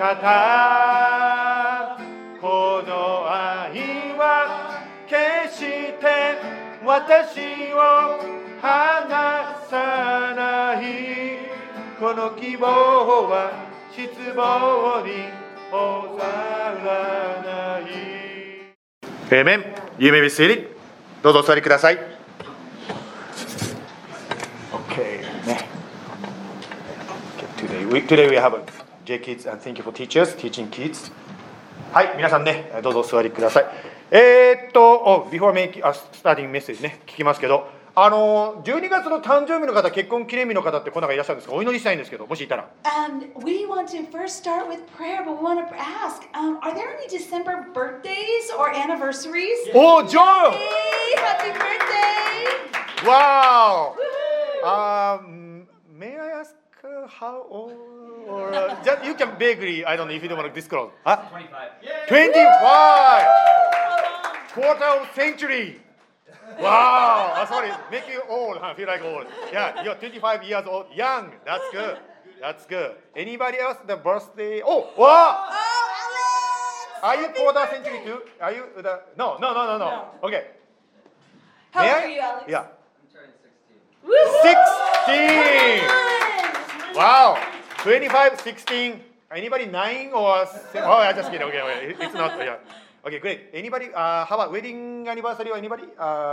方、この愛は決して私を離さない。この希望は失望に収らない。Amen. You may be seated. どうぞお座りください。Okay. Today we have J Kids and thank you for teachers teaching kids. はい、皆さんね、どうぞお座りください。Before starting message ね、聞きますけど、12月の誕生日の方、結婚記念日の方ってこの中いらっしゃるんですか？お祈りしたいんですけど、もしいたら。 We want to first start with prayer, but we want to ask, are there any December birthdays or anniversaries? Oh, Joe! Hey, happy birthday! Wow! May I ask how old? Or just, you can vaguely, I don't know if you don't want to disclose. Huh? 25. 25! Quarter of century! Wow! Sorry, make you old, huh? Feel like old. Yeah, you're 25 years old, young. That's good. That's good. Anybody else the birthday? Oh, wow! Oh, Alex! Are you quarter century too? Are you the? No. Okay. How old are you, Alex? Yeah. I'm turning 16. 16! Wow! 25, 16. Anybody 9 or 7? Oh, I just kidding. Okay. It's not. Yeah. Okay, great. Anybody? How about wedding anniversary or anybody?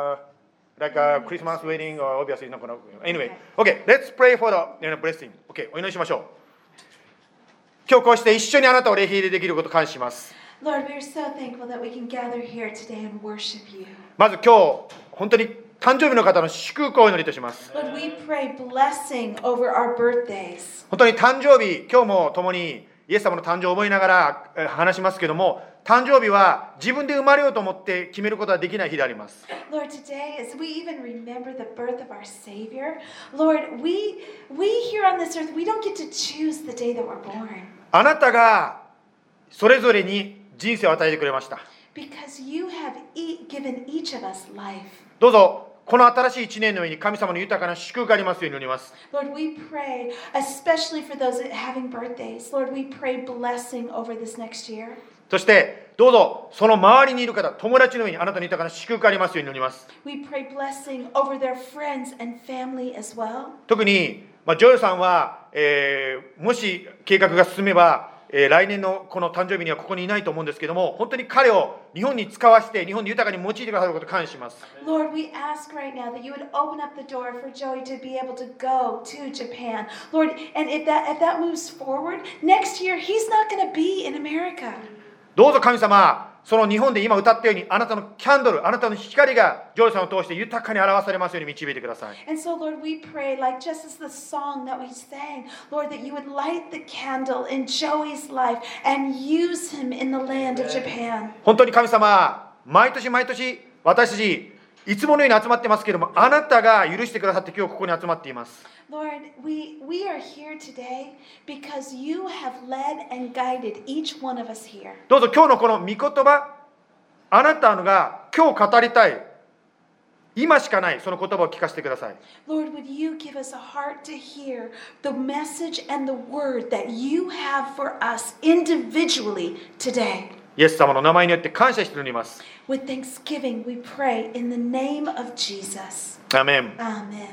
Like a Christmas wedding or obviously not gonna. Anyway, okay. Let's pray for the blessing. Okay, お祈りしましょう。今日こうして一緒にあなたを礼拝できることを感謝します。 Lord, we are so thankful that we can gather here today and worship you. まず今日本当に誕生日の方の祝福をお祈りいたします。 Lord, we pray blessing over our birthdays. 本当に誕生日、今日も共にイエス様の誕生を思いながら話しますけども、誕生日は自分で生まれようと思って決めることはできない日であります。 Lord, today as we even remember the birth of our Savior, Lord, we here on this earth, we don't get to choose the day that we're born. あなたがそれぞれに人生を与えてくれました。 Because you have given each of us life. どうぞこの新しい一年の上に神様の豊かな祝福がありますように祈ります。 Lord, we pray, especially for those having birthdays. Lord, we pray blessing over this next year. そしてどうぞその周りにいる方、友達の上にあなたの豊かな祝福がありますように祈ります。 We pray blessing over their friends and family as well. 特に、ジョエルさんは、もし計画が進めば、来年のこの誕生日にはここにいないと思うんですけども、本当に彼を日本に使わせて日本に豊かに用いてくださることを感謝します。 Lord, we ask right now that you would open up the door for Joey to be able to go to Japan. Lord, and if that moves forward, next year he's not going to be in America. どうぞ神様、その日本で今歌ったようにあなたのキャンドル、あなたの光がジョエルさんを通して豊かに表されますように導いてください。 And so, Lord, we pray, like just as the song that we sang, Lord, that you would light the candle in Joey's life and use him in the land of Japan. 本当に神様、毎年私たちいつものように集まってますけども、あなたが許してくださって今日ここに集まっています。 Lord, we are here today because you have led and guided each one of us here. どうぞ今日のこの御言葉、あなたのが今日語りたい、今しかないその言葉を聞かせてください。 Lord, would you give us a heart to hear the message and the word that you have for us individually today? イエス様の名前によって感謝しております。 With thanksgiving, we pray in the name of Jesus. アーメン。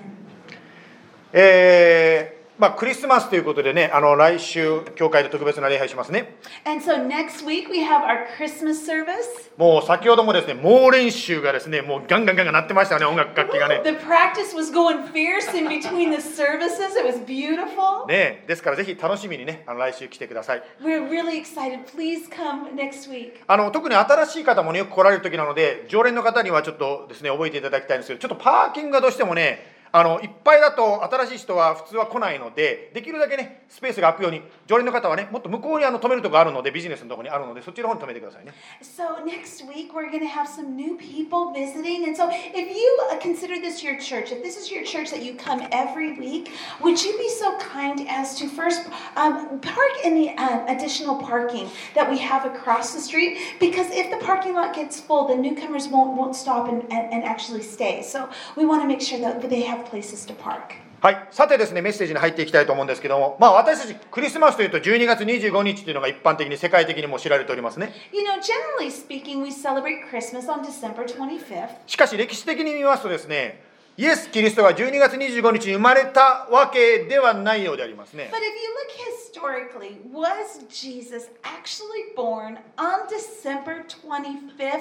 Amen. クリスマスということでね、来週教会で特別な礼拝しますね。 And so next week we have our Christmas service. もう先ほどもですね、猛練習がですね、もうガンガン鳴ってましたね、音楽楽器がね。 The practice was going fierce in between the services. It was beautiful. ね、ですからぜひ楽しみにね、来週来てください。 We're really excited. Please come next week. 特に新しい方もね、よく来られる時なので、常連の方にはちょっとですね、覚えていただきたいんですけど、ちょっとパーキングがどうしてもね、いっぱいだと新しい人は普通は来ないので、できるだけねスペースが空くように、常連の方はねもっと向こうに止めるところあるので、ビジネスのところにあるので、そっちの方に止めてくださいね。 So next week we're going to have some new people visiting, and so if you consider this your church, if this is your church that you come every week, would you be so kind as to first park in the additional parking that we have across the street? Because if the parking lot gets full, the newcomers won't stop and actually stay. So we want to make sure that they have places to park. はい、さてですね、メッセージに入っていきたいと思うんですけども、私たちクリスマスというと12月25日というのが一般的に世界的にも知られておりますね。 You know, generally speaking, we celebrate Christmas on December 25th. しかし歴史的に見ますとですね、イエス・キリストが12月25日に生まれたわけではないようでありますね。 But if you look historically, was Jesus actually born on December 25th?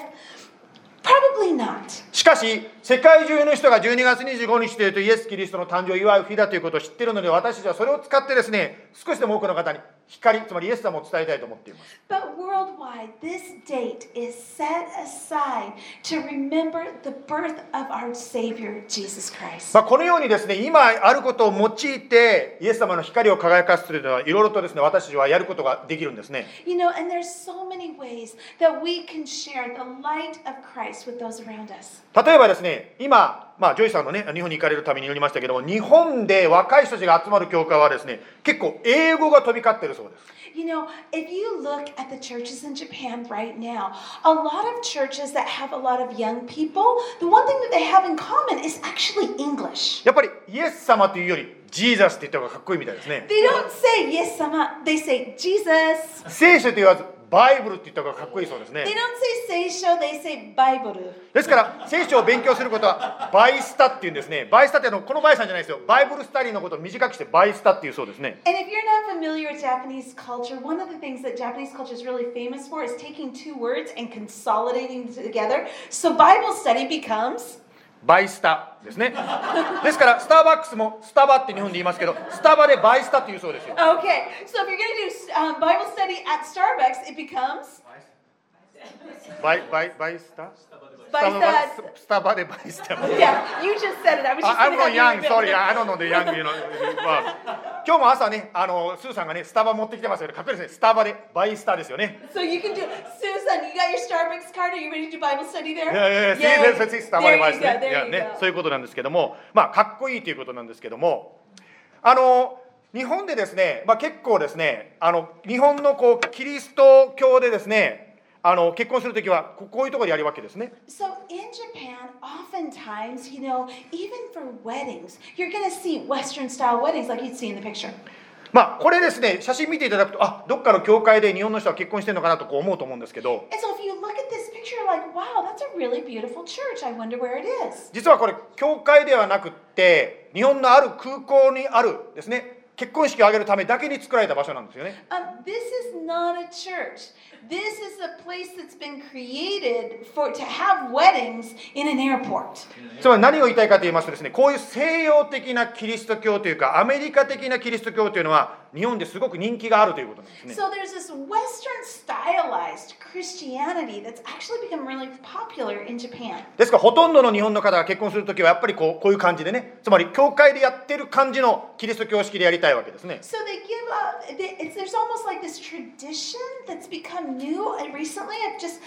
Probably not. しかし世界中の人が12月25日というとイエス・キリストの誕生を祝う日だということを知っているので、私たちはそれを使ってですね、少しでも多くの方に光、つまりイエス様を伝えたいと思っています。 But worldwide, this date is set aside to remember the birth of our Savior, Jesus Christ. このようにですね、今あることを用いてイエス様の光を輝かすというのはいろいろとですね、私たちはやることができるんですね。 You know, and there's so many ways that we can share the light of Christ with those around us. 例えばですね、今、ジョイさんのね、日本に行かれるために言いましたけども、日本で若い人たちが集まる教会はですね、結構英語が飛び交っているそうです。 You know, if you look at the churches in Japan right now, a lot of churches that have a lot of young people, the one thing that they have in common is actually English. やっぱりイエス様というよりジーザスって言った方がかっこいいみたいですね。 They don't say yes, sama, they say Jesus. 聖書と言わずバイブルって言った方がかっこいいそうです They ね。 don't say seisho, they say Bible. ですから聖書を勉強することはバイスタっていうんですね。バイスタってこのバイさんじゃないですよ。バイブルスタディのことを短くしてバイスタっていうそうですね。 And if you're not familiar with Japanese culture, one of the things that Japanese culture is really famous for is taking two words and consolidating them together. So Bible study becomes バイスタですね。ですからスターバックスもスタバって日本で言いますけど、スタバでバイスタっていうそうですよ。 okay. So if you're going to do Bible study at Starbucks, it becomes バイスタ Baista. スタバでバイスタ。 Yeah, you just said it. I was just I'm going to not have young, you sorry, remember. I don't know the young, you know. 今日も朝ね、スーさんがね、スタバ持ってきてますよね。かっこいいですね。スタバでバイスタですよね。 So you can do, Susan, you got your Starbucks card? Are you ready to do Bible study there? いや、 Yay. スタバでバイスタ There you go, there you ね。 go. そういうことなんですけども、かっこいいということなんですけども、日本でですね、結構ですね、日本のキリスト教でですね、結婚するときはこういうところでやるわけですね。 So in Japan, oftentimes, you know, even for weddings, you're going to see Western style weddings like you'd see in the picture. これですね、写真見ていただくと、どっかの教会で日本の人は結婚してるのかなと思うと思うんですけど、 And so if you look at this picture, you're like, wow, that's a really beautiful church. I wonder where it is. 実はこれ教会ではなくって日本のある空港にあるですね、結婚式を挙げるためだけに作られた場所なんですよね。 This is not a church. This is a place that's been created to have weddings in an airport. つまり何を言いたいかと言いますとですね、こういう西洋的なキリスト教というかアメリカ的なキリスト教というのは日本ですごく人気があるということなんですね。 So there's this Western stylized Christianity that's actually become really popular in Japan. ですからほとんどの日本の方が結婚するときはやっぱりこういう感じでね、つまり教会でやってる感じのキリスト教式でやりたいわけですね。 So they give up, there's almost like this tradition that's become new recently of just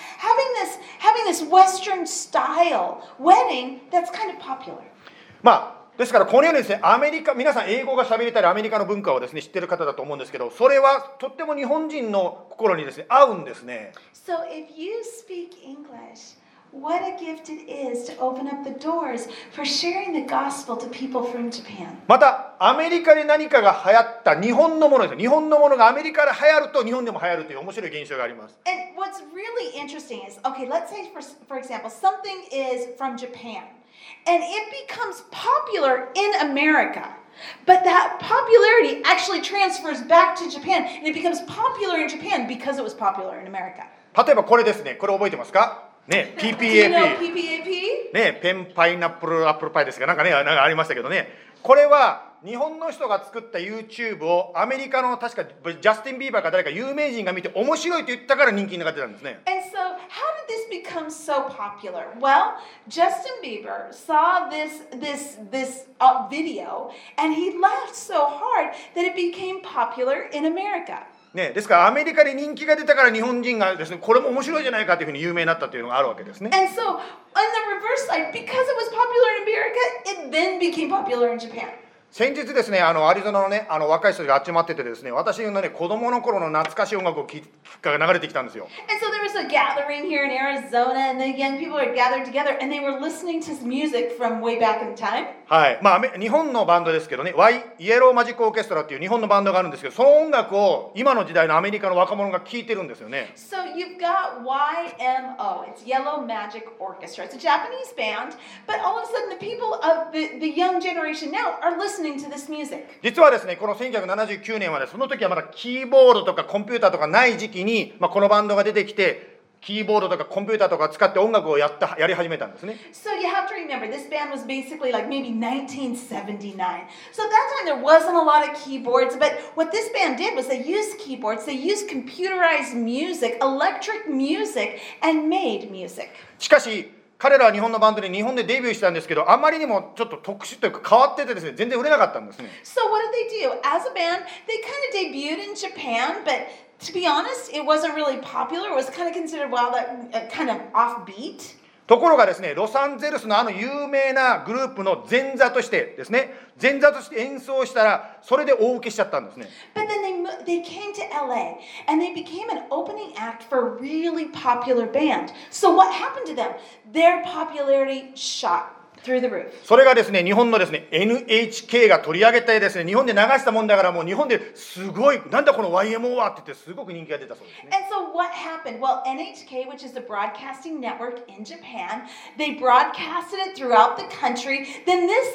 having this Western style wedding that's kind of popular. ですからこのようにですね、アメリカ、皆さん英語が喋れたりアメリカの文化をですね知ってる方だと思うんですけど、それはとっても日本人の心にですね合うんですね。 So if you speak English, what a gift it is to open up the doors for sharing the gospel to people from Japan. またアメリカで何かが流行った日本のものです。日本のものがアメリカで流行ると日本でも流行るという面白い現象があります。 And what's really interesting is, okay, let's say for example, something is from Japan and it becomes popular in America. But that popularity actually transfers back to Japan and it becomes popular in Japan because it was popular in America. 例えばこれですね、これ覚えてますかね、 Do you know PPAP PPAP? ね、ペンパイナップルアップルパイですか、なんかありましたけどね、これは日本の人が作った YouTube をアメリカの確かジャスティン・ビーバーか誰か有名人が見て面白いと言ったから人気になってたんですね。 And so, how did this become so popular? Well, Justin Bieber saw this video, and he laughed so hard that it became popular in America. ね、ですからアメリカで人気が出たから日本人がですね、これも面白いじゃないかというふうに有名になったというのがあるわけですね。 And so, on the reverse side, because it was popular in America, it then became popular in Japan. 先日ですね、アリゾナのね、若い人が集まっててですね、私のね、子供の頃の懐かしい音楽が流れてきたんですよ。 And so there was a gathering here in Arizona, and the young people were gathered together, and they were listening to music from way back in time. はい。まあ、日本のバンドですけどね、イエローマジックオーケストラっていう日本のバンドがあるんですけど、その音楽を今の時代のアメリカの若者が聴いてるんですよね。 So you've got YMO, it's Yellow Magic Orchestra. It's a Japanese band, but all of a sudden the people of the young generation now are listening to this music. 実はですね、この1979年はね、その時はまだキーボードとかコンピューターとかない時期に、このバンドが出てきて、キーボードとかコンピューターとか使って音楽をやり始めたんですね。 So you have to remember, this band was basically like maybe 1979. So at that time there wasn't a lot of keyboards, but what this band did was they used keyboards, they used computerized music, electric music, and made music. しかし、彼らは日本のバンドで日本でデビューしたんですけど、あまりにもちょっと特殊というか変わっててですね、全然売れなかったんですね。 So what did they do? As a band, they kind of debuted in Japan, but to be honest, it wasn't really popular. It was kind of considered, well, that kind of offbeat. ところがですね、ロサンゼルスの有名なグループの前座としてですね、前座として演奏したら、それで大受けしちゃったんですね。 But then they came to LA and they became an opening act for a really popular band. So what happened to them? Their popularity shot through the roof. それがですね、日本のですね、NHK が取り上げてですね、日本で流したもんだから、もう日本ですごい、なんだこの YMO はって言って、すごく人気が出たそうですね。 And so what happened? Well, NHK, which is the broadcasting network in Japan, they broadcasted it throughout the country. Then this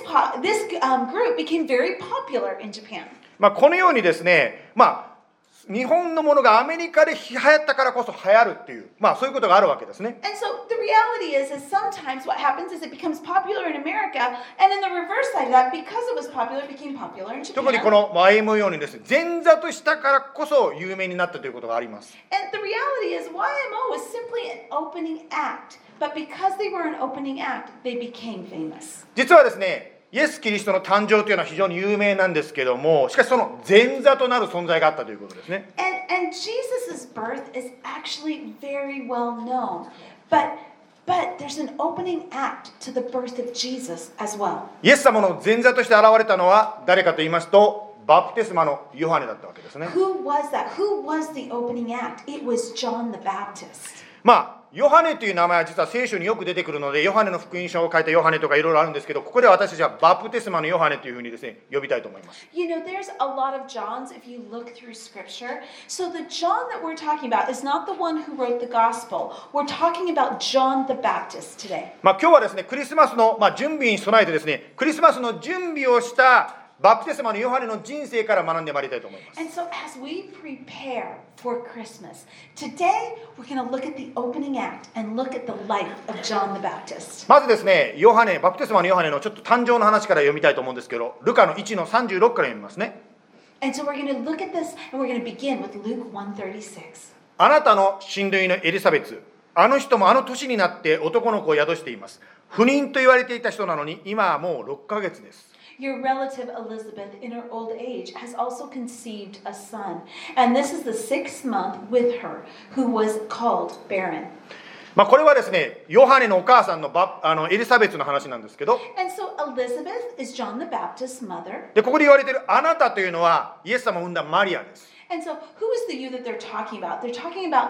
group became very popular in Japan. このようにですね、日本のものがアメリカで流行ったからこそ流行るっていう、そういうことがあるわけですね。 And so the reality is sometimes what happens is it becomes popular in America, and in the reverse side of that, because it was popular, it became popular in Japan. 特にこの YMO ようにですね、前座としたからこそ有名になったということがあります。 And the reality is YMO was simply an opening act, but because they were an opening act, they became famous. 実はですね、イエス・キリストの誕生というのは非常に有名なんですけども、しかしその前座となる存在があったということですね。 And Jesus' birth is actually very well known, but there's an opening act to the birth of Jesus as well. イエス様の前座として現れたのは誰かと言いますと、バプテスマのヨハネだったわけですね。 Who was that? Who was the opening act? It was John the Baptist. ヨハネという名前は実は聖書によく出てくるので、ヨハネの福音書を書いたヨハネとかいろいろあるんですけど、ここでは私たちはバプテスマのヨハネというふうにですね、呼びたいと思います。 You know, there's a lot of Johns if you look through scripture. So the John that we're talking about is not the one who wrote the gospel. We're talking about John the Baptist today. 今日はですね、クリスマスの準備に備えてですね、クリスマスの準備をしたバプテスマのヨハネの人生から学んでまいりたいと思います。 And so as we prepare for Christmas, today we're going to look at the opening act and look at the life of John the Baptist. まずですね、バプテスマのヨハネのちょっと誕生の話から読みたいと思うんですけど、ルカの1の36から読みますね。 And so we're going to look at this and we're going to begin with Luke 1:36. あなたの親類のエリザベツ、あの人もあの年になって男の子を宿しています。不妊と言われていた人なのに今はもう6ヶ月です。 Your relative Elizabeth, in her old age, has also conceived a son, and this is the 6th month with her, who was called barren. これはですね、ヨハネのお母さんのエリザベツの話なんですけど、 And so Elizabeth is John the Baptist's mother. でここで言われているあなたというのはイエス様を産んだマリアです。 And so who is the you that they're talking about? They're talking about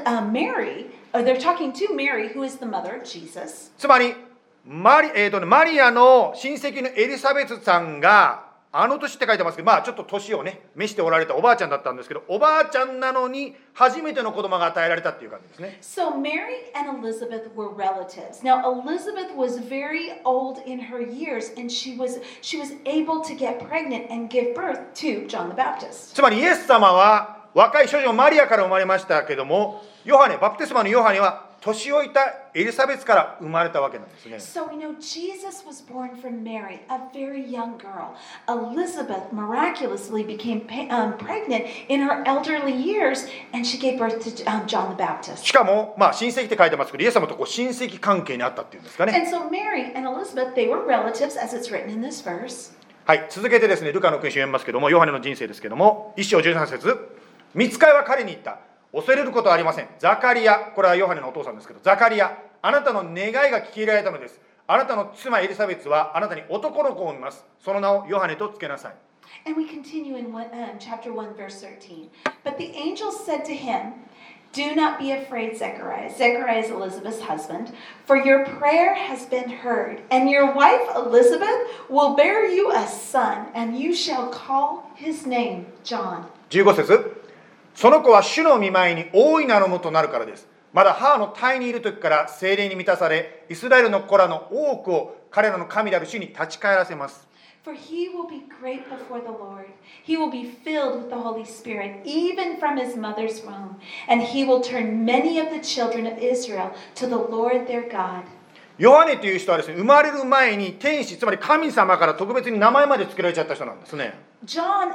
Mary, or they're talking to Mary, who is the mother of Jesus. つまりマリアの親戚のエリザベツさんがあの年って書いてますけど、ちょっと年をね召しておられたおばあちゃんだったんですけど、おばあちゃんなのに初めての子供が与えられたっていう感じですね。 So Mary and Elizabeth were relatives. Now Elizabeth was very old in her years, and she was able to get pregnant and give birth to John the Baptist. つまりイエス様は若い少女マリアから生まれましたけども、バプテスマのヨハネは年老いたエリザベツから生まれたわけなんですね。 So we know Jesus was born from Mary, a very young girl. Elizabeth miraculously became pregnant in her elderly years, and she gave birth to John the Baptist. しかも、親戚って書いてますけど、イエス様と親戚関係にあったっていうんですかね。 And so Mary and Elizabeth, they were relatives, as it's written in this verse. はい、続けてですね、ルカの福音書を読みますけども、ヨハネの人生ですけども、1章13節、御使いは彼に言った。恐れることはありません。ザカリア、これはヨハネのお父さんですけど、ザカリア、あなたの願いが聞き入れられたのです。 あなたの妻エリザベツはあなたに男の子を産みます。その名をヨハネとつけなさい。 And we continue in chapter 1, verse 13. But the angel said to him, Do not be afraid, Zechariah. Zechariah is Elizabeth's husband, for your prayer has been heard, and your wife Elizabeth will bear you a son, and you shall call his name John. 15節。その子は主の御前に大いなるものとなるからです。まだ母の胎にいる時から聖霊に満たされ、イスラエルの子らの多くを彼らの神である主に立ち返らせます。 For he will be great before the Lord. He will be filled with the Holy Spirit, even from his mother's womb. And he will turn many of the children of Israel to the Lord their God. ヨハネという人はですね、生まれる前に天使、つまり神様から特別に名前まで付けられちゃった人なんですね。 John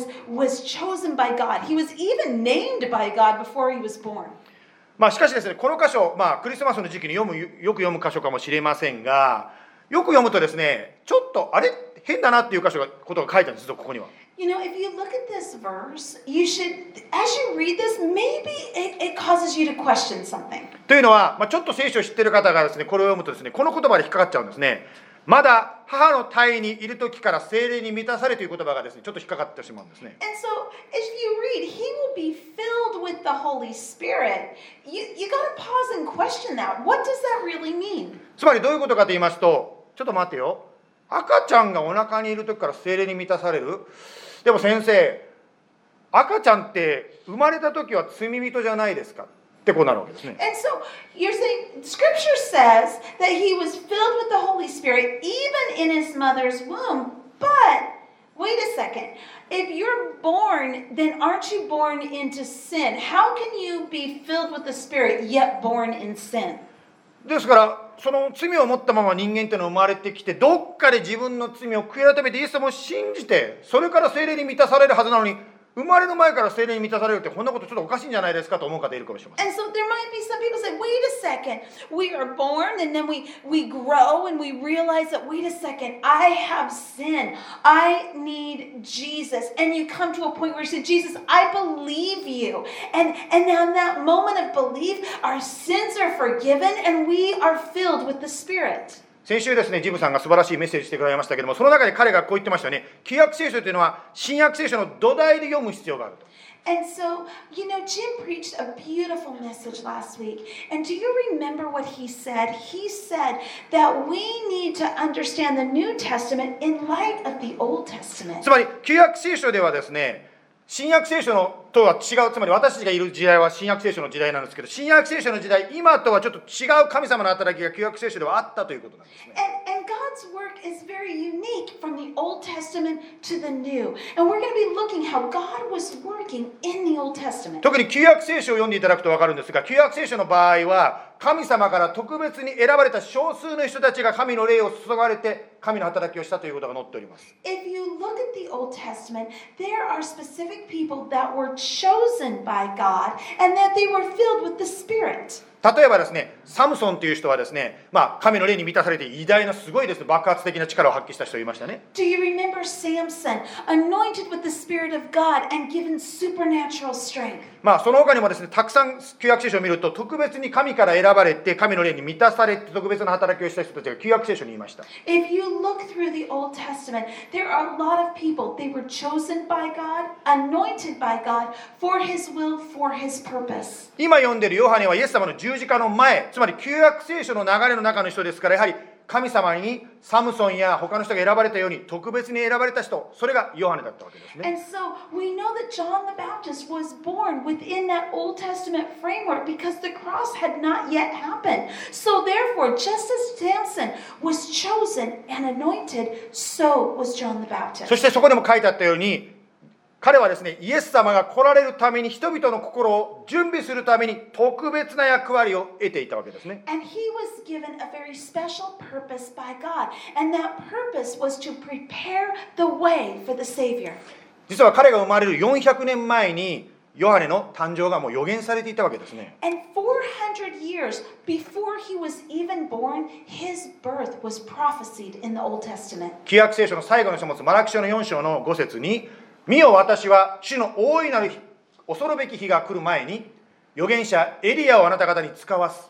was chosen by God. He was even named by God before he was born. しかしですね、この箇所、クリスマスの時期によく読む箇所かもしれませんが、よく読むとですね、ちょっとあれ変だなっていうことが書いてあるんですよ、ここには。 You know, if you look at this verse, you should, as you read this, maybe it causes you to question something. というのは、ちょっと聖書を知っている方がですね、これを読むとですね、この言葉で引っかかっちゃうんですね。まだ母の胎にいる時から聖霊に満たされという言葉がですね、ちょっと引っかかってしまうんですね。 And so, if you read, he will be filled with the Holy Spirit. You got to pause and question that. What does that really mean? つまりどういうことかと言いますと、ちょっと待ってよ。赤ちゃんがお腹にいる時から聖霊に満たされる。でも先生、赤ちゃんって生まれた時は罪人じゃないですかってこうなるわけですね。 And so you're saying Scripture says that he was filled with the Holy Spirit even in his mother's womb. But wait a second. If you're born, then aren't you born into sin? How can you be filled with the Spirit yet born in sin? ですからその罪を持ったまま人間っていうのは生まれてきて、どっかで自分の罪を悔い改めてイエス様を信じて、それから聖霊に満たされるはずなのに、生まれる前から聖霊に満たされるってこんなことちょっとおかしいんじゃないですかと思う方いるかもしれません。 And so there might be some people say, wait a second, we are born and then we grow and we realize that, wait a second, I have sin. I need Jesus. And you come to a point where you say, Jesus, I believe you. And in that moment of belief, our sins are forgiven and we are filled with the Spirit. 先週ですね、ジムさんが素晴らしいメッセージしてくれましたけども、その中で彼がこう言ってましたね。旧約聖書というのは新約聖書の土台で読む必要があると。 And so, you know, Jim preached a beautiful message last week. And do you remember what he said? He said that we need to understand the New Testament in light of the Old Testament. つまり旧約聖書ではですね、新約聖書のとは違う、つまり私たちがいる時代は新約聖書の時代なんですけど、新約聖書の時代、今とはちょっと違う神様の働きが旧約聖書ではあったということなんですね。 And God's work is very unique from the Old Testament to the New. And we're going to be looking how God was working in the Old Testament. 特に旧約聖書を読んでいただくと分かるんですが、旧約聖書の場合は神様から特別に選ばれた少数の人たちが神の霊を注がれて神の働きをしたということが載っております。 If you look at the Old Testament, there are specific people that were chosen by God and that they were filled with the Spirit. 例えばですね、サムソンという人はですね、神の霊に満たされて偉大なすごいですね、爆発的な力を発揮した人がいましたね。 Do you remember Samson, anointed with the Spirit of God and given supernatural strength? その他にもですね、たくさん旧約聖書を見ると、特別に神から選ばれて、神の霊に満たされて、特別な働きをした人たちが旧約聖書にいました。 If you look through the Old Testament, there are a lot of people. They were chosen by God, anointed by God, for His will, for His purpose. 今読んでいるヨハネはイエス様の十字架の前、つまり旧約聖書の流れの中の人ですから、やはり神様にサムソンや他の人が選ばれたように特別に選ばれた人、それがヨハネだったわけですね。 And so we know that John the Baptist was born within that Old Testament framework because the cross had not yet happened. So therefore, just as Samson was chosen and anointed, so was John the そ Baptist. してそこでも書いてあったように、彼はですね、イエス様が来られるために人々の心を準備するために特別な役割を得ていたわけですね。 And he was given a very special purpose by God. And that purpose was to prepare the way for the Savior. 実は彼が生まれる400年前にヨハネの誕生がもう予言されていたわけですね。 And 400 years before he was even born, his birth was prophesied in the Old Testament. 旧約聖書の最後の書物マラキ書の4章の5節に、見よ私は主の大いなる恐るべき日が来る前に預言者エリアをあなた方に使わす。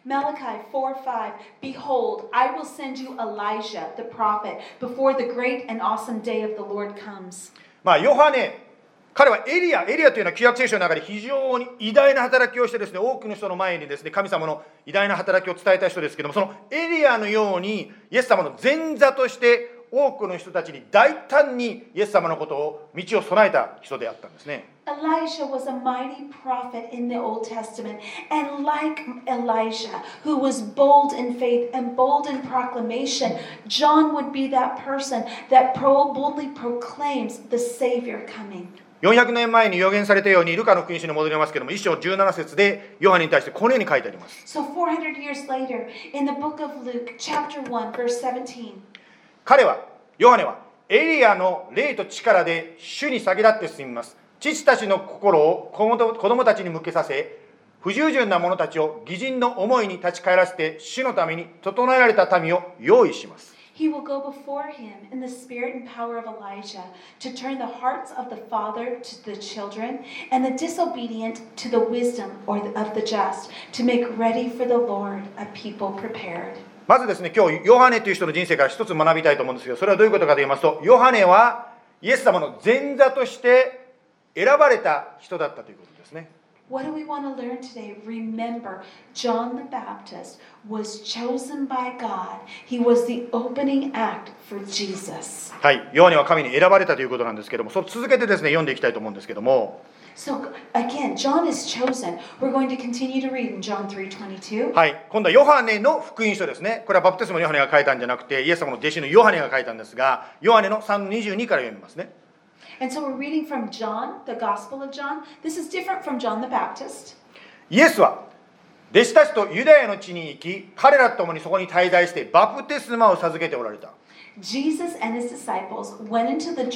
Malachi 4:5, Behold, I will send you Elijah, the prophet, before the great and awesome day of the Lord comes. ヨハネ、彼はエリアというのは旧約聖書の中で非常に偉大な働きをしてですね、多くの人の前にですね、神様の偉大な働きを伝えた人ですけども、そのエリアのようにイエス様の前座として多くの人たちに大胆にイエス様のことを道を備えた人であったんですね。 Elijah was a mighty prophet in the Old Testament, and like Elijah, who was bold in faith and bold in proclamation, John would be that person that boldly proclaims the Savior coming. 400年前に予言されたように、ルカの福音書に戻りますけども、1章17節でヨハネに対してこのように書いてあります。 So 400 years later, in the book of Luke, chapter 1, verse 17. ヨハネはエリアの霊と力で主に先立って進みます。父たちの心を子供たちに向けさせ、不従順な者たちを義人の思いに立ち返らせて、主のために整えられた民を用意します。 He will go before him in the spirit and power of Elijah to turn the hearts of the father to the children and the disobedient to the wisdom of the just, to make ready for the Lord a people prepared. まずですね、今日ヨハネという人の人生から一つ学びたいと思うんですけど、それはどういうことかと言いますと、ヨハネはイエス様の前座として選ばれた人だったということですね。 What do we want to learn today? Remember, John the Baptist was chosen by God. He was the opening act for Jesus. はい、ヨハネは神に選ばれたということなんですけども、それ続けてですね、読んでいきたいと思うんですけども。 So again, John is chosen. We're going to continue to read in John 3:22. はい、今度はヨハネの福音書ですね。これはバプテスマのヨハネが書いたんじゃなくて、イエス様の弟子のヨハネが書いたんですが、ヨハネの 3:22 から読みますね。 And so we're reading from John, the Gospel of John. This is different from John the Baptist. イエスは弟子たちとユダヤの地に行き、彼らと共にそこに滞在してバプテスマを授けておられた。 Jesus and his disciples went into the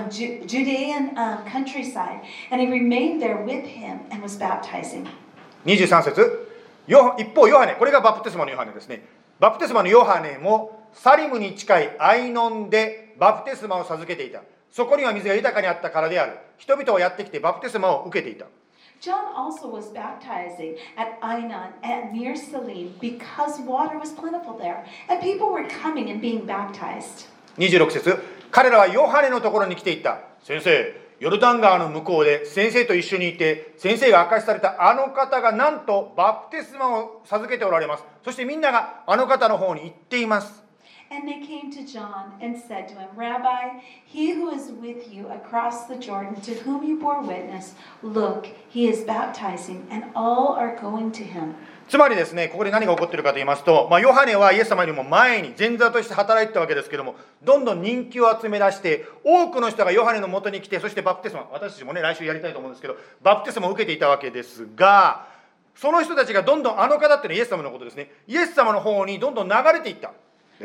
Judean countryside, and he remained there with him and was baptizing. 23節、一方ヨハネ、これがバプテスマのヨハネですね。バプテスマのヨハネもサリムに近いアイノンでバプテスマを授けていた。そこには水が豊かにあったからである。人々はやってきてバプテスマを受けていた。 John also was baptizing at Ainon and near Salim because water was plentiful there, and people were coming and being baptized. 26節、彼らはヨハネのところに来ていった。先生、ヨルダン川の向こうで先生と一緒にいて、先生が明かしされたあの方がなんとバプテスマを授けておられます。そしてみんながあの方の方に行っています。 And they came to John and said to him, Rabbi, he who is with you across the Jordan, to whom you bore witness, look, he is baptizing, and all are going to him. つまりですね、ここで何が起こっているかと言いますと、ヨハネはイエス様よりも前に前座として働いてたわけですけども、どんどん人気を集め出して、多くの人がヨハネのもとに来て、そしてバプテスマ、私たちもね、来週やりたいと思うんですけど、バプテスマを受けていたわけですが、その人たちがどんどんあの方っていうのはイエス様のことですね、イエス様の方にどんどん流れていった。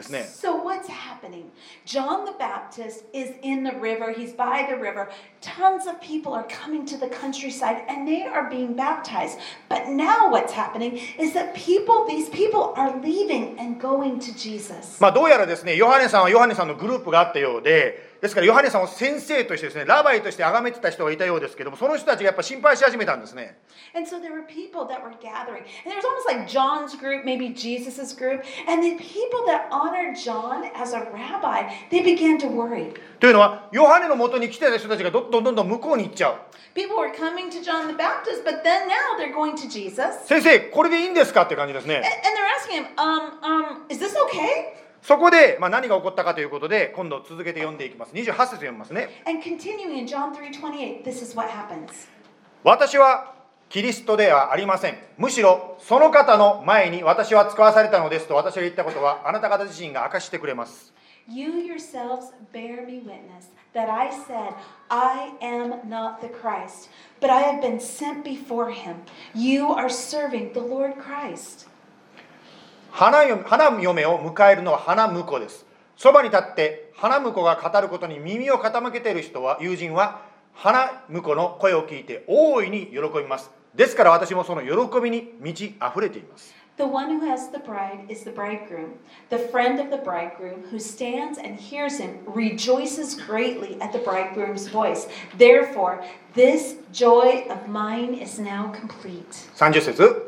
So what's happening? John the Baptist is in the river. He's by the river. Tons of people are coming to the countryside and they are being baptized. But now what's happening is that these people are leaving and going to Jesus. どうやらですね、ヨハネさんはヨハネさんのグループがあったようで、ですからヨハネさんを先生としてですね、ラバイとして崇めてた人がいたようですけども、その人たちがやっぱ心配し始めたんですね。 And so there were people that were gathering. And there was almost like John's group, maybe Jesus's group. And the people that honored John as a rabbi, they began to worry. というのは、ヨハネの元に来てた人たちがどんどん向こうに行っちゃう。 People were coming to John the Baptist, but then now they're going to Jesus. 先生、これでいいんですかって感じですね。 And they're asking him, is this okay? そこで、何が起こったかということで、今度続けて読んでいきます。28節読みますね。 And continuing in John 3:28, this is what happens. 私はキリストではありません。むしろその方の前に私は使わされたのですと私が言ったことはあなた方自身が明かしてくれます。 You yourselves bear me witness that I said, I am not the Christ, but I have been sent before him. You are serving the Lord Christ. 花嫁を迎えるのは花婿です。そばに立って花婿が語ることに耳を傾けている人は、友人は花婿の声を聞いて大いに喜びます。ですから私もその喜びに満ち溢れています。 The one who has the bride is the bridegroom. The friend of the bridegroom who stands and hears him rejoices greatly at the bridegroom's voice. Therefore, this joy of mine is now complete. 30節。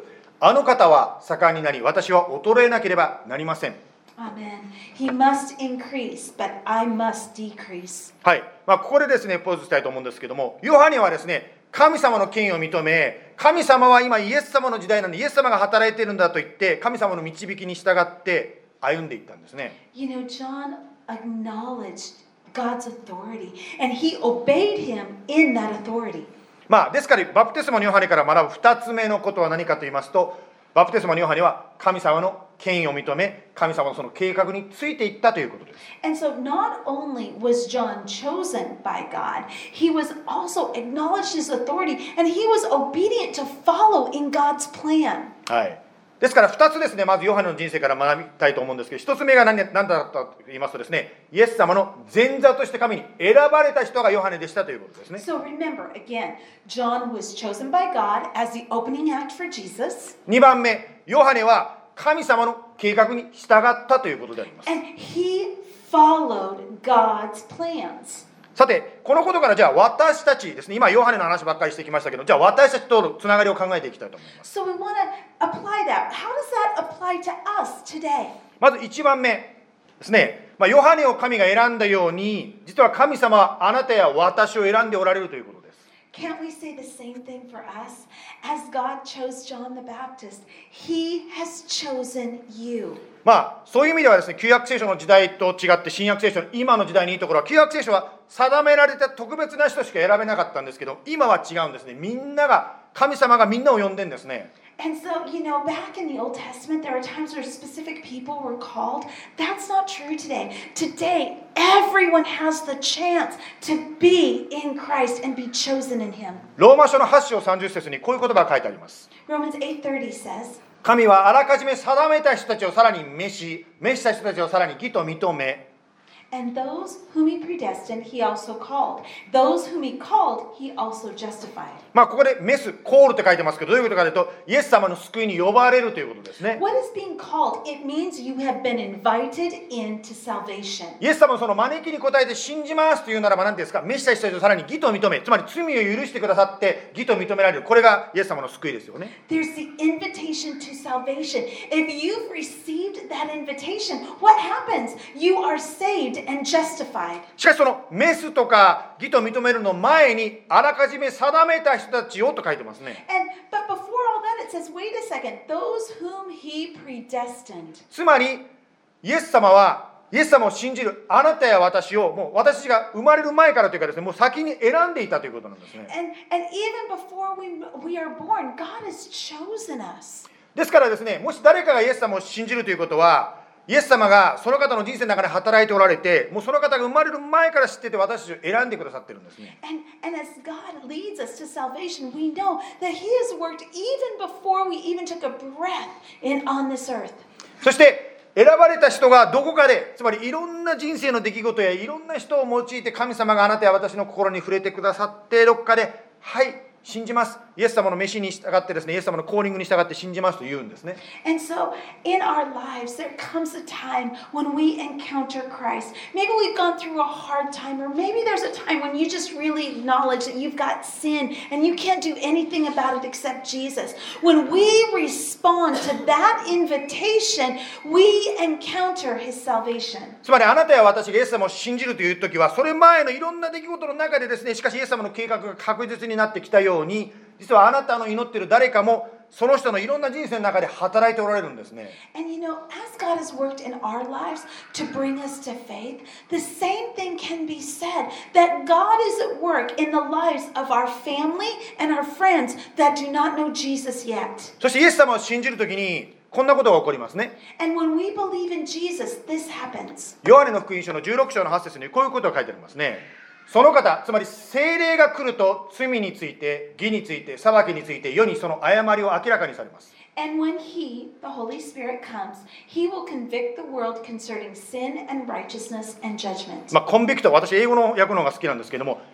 あの方は盛んになり、私は衰えなければなりません。 Amen. He must increase, but I must decrease. はい。ここでですね、ポーズしたいと思うんですけども、ヨハネはですね、神様の権威を認め、神様は今イエス様の時代なので、イエス様が働いているんだと言って、神様の導きに従って歩んでいったんですね。 You know, John acknowledged God's authority, and he obeyed him in that authority. ですから、バプテスマのヨハネから学ぶ2つ目のことは何かと言いますと、バプテスマのヨハネは神様の権威を認め、神様のその計画についていったということです。 And so not only was John chosen by God, he was also acknowledged his authority, and he was obedient to follow in God's plan. はい。ですから2つですね、まずヨハネの人生から学びたいと思うんですけど、1つ目が何だったと言いますとですね、イエス様の前座として神に選ばれた人がヨハネでしたということですね。 So remember, again, John was chosen by God as the opening act for Jesus. 2番目、ヨハネは神様の計画に従ったということであります。 And he followed God's plans. さて、このことからじゃあ私たちですね、今ヨハネの話ばっかりしてきましたけど、じゃあ私たちとのつながりを考えていきたいと思います。 So we want to apply that. How does that apply to us today? まず1番目ですね、ヨハネを神が選んだように、実は神様はあなたや私を選んでおられるということです。 Can't we say the same thing for us? As God chose John the Baptist, he has chosen you. そういう意味ではですね、旧約聖書の時代と違って新約聖書の今の時代にいいところは、旧約聖書は定められた特別な人しか選べなかったんですけど、今は違うんですね。みんなが、神様がみんなを呼んでるんですね。 And so, you know, back in the Old Testament, there are times where specific people were called. That's not true today. Today, everyone has the chance to be in Christ and be chosen in him. ローマ書の8章30節にこういう言葉が書いてあります。 Romans 8:30 says, 神はあらかじめ定めた人たちをさらに召した人たちをさらに義と認め、 and those whom he predestined, he also called. Those whom he called, he also justified. ここでメス、コールって書いてますけど、どういうことかというと、イエス様の救いに呼ばれるということですね。 What is being called? It means you have been invited into salvation. イエス様のその招きに応えて信じますというならば何ですか、召した人たちをさらに義と認め、つまり罪を許してくださって義と認められる、これがイエス様の救いですよね。 There's the invitation to salvation. If you've received that invitation, what happens? You are saved and justified. しかしその召すとか義と認めるの前にあらかじめ定めた人たちをと書いてますね。 But before all that, it says, wait a second, those whom he predestined. つまりイエス様を信じるあなたや私を、もう私たちが生まれる前からというかですね、もう先に選んでいたということなんですね。 And even before we are born, God has chosen us. ですからですね、もし誰かがイエス様を信じるということは、イエス様がその方の人生の中で働いておられて、もうその方が生まれる前から知ってて私たちを選んでくださってるんですね。 And as God leads us to salvation, we know that he has worked even before we even took a breath on this earth. そして選ばれた人がどこかで、つまりいろんな人生の出来事やいろんな人を用いて神様があなたや私の心に触れてくださって、どこかで、はい、信じます。イエス様の召しに従ってですね、イエス様のコーリングに従って信じますと言うんですね。 And so in our lives, there comes a time when we encounter Christ. Maybe we've gone through a hard time, or maybe there's a time when you just really acknowledge that you've got sin and you can't do anything about it except Jesus. When we respond to that invitation, we encounter his salvation. つまりあなたや私がイエス様を信じるという時は、それ前のいろんな出来事の中でですね、しかしイエス様の計画が確実になってきたように、実はあなたの祈っている誰かもその人のいろんな人生の中で働いておられるんですね。 And you know, as God has worked in our lives to bring us to faith, the same thing can be said that God is at work in the lives of our family and our friends that do not know Jesus yet. そしてイエス様を信じるときにこんなことが起こりますね。 And when we believe in Jesus, this happens. ヨハネの福音書の16章の8節にこういうことが書いてありますね。その方、つまり聖霊が来ると罪について、義について、裁きについて、世にその誤りを明らかにされます。 And when he, the Holy Spirit, comes, he will convict the world concerning sin and righteousness and judgment. コンビクト、私英語の訳の方が好きなんですけども、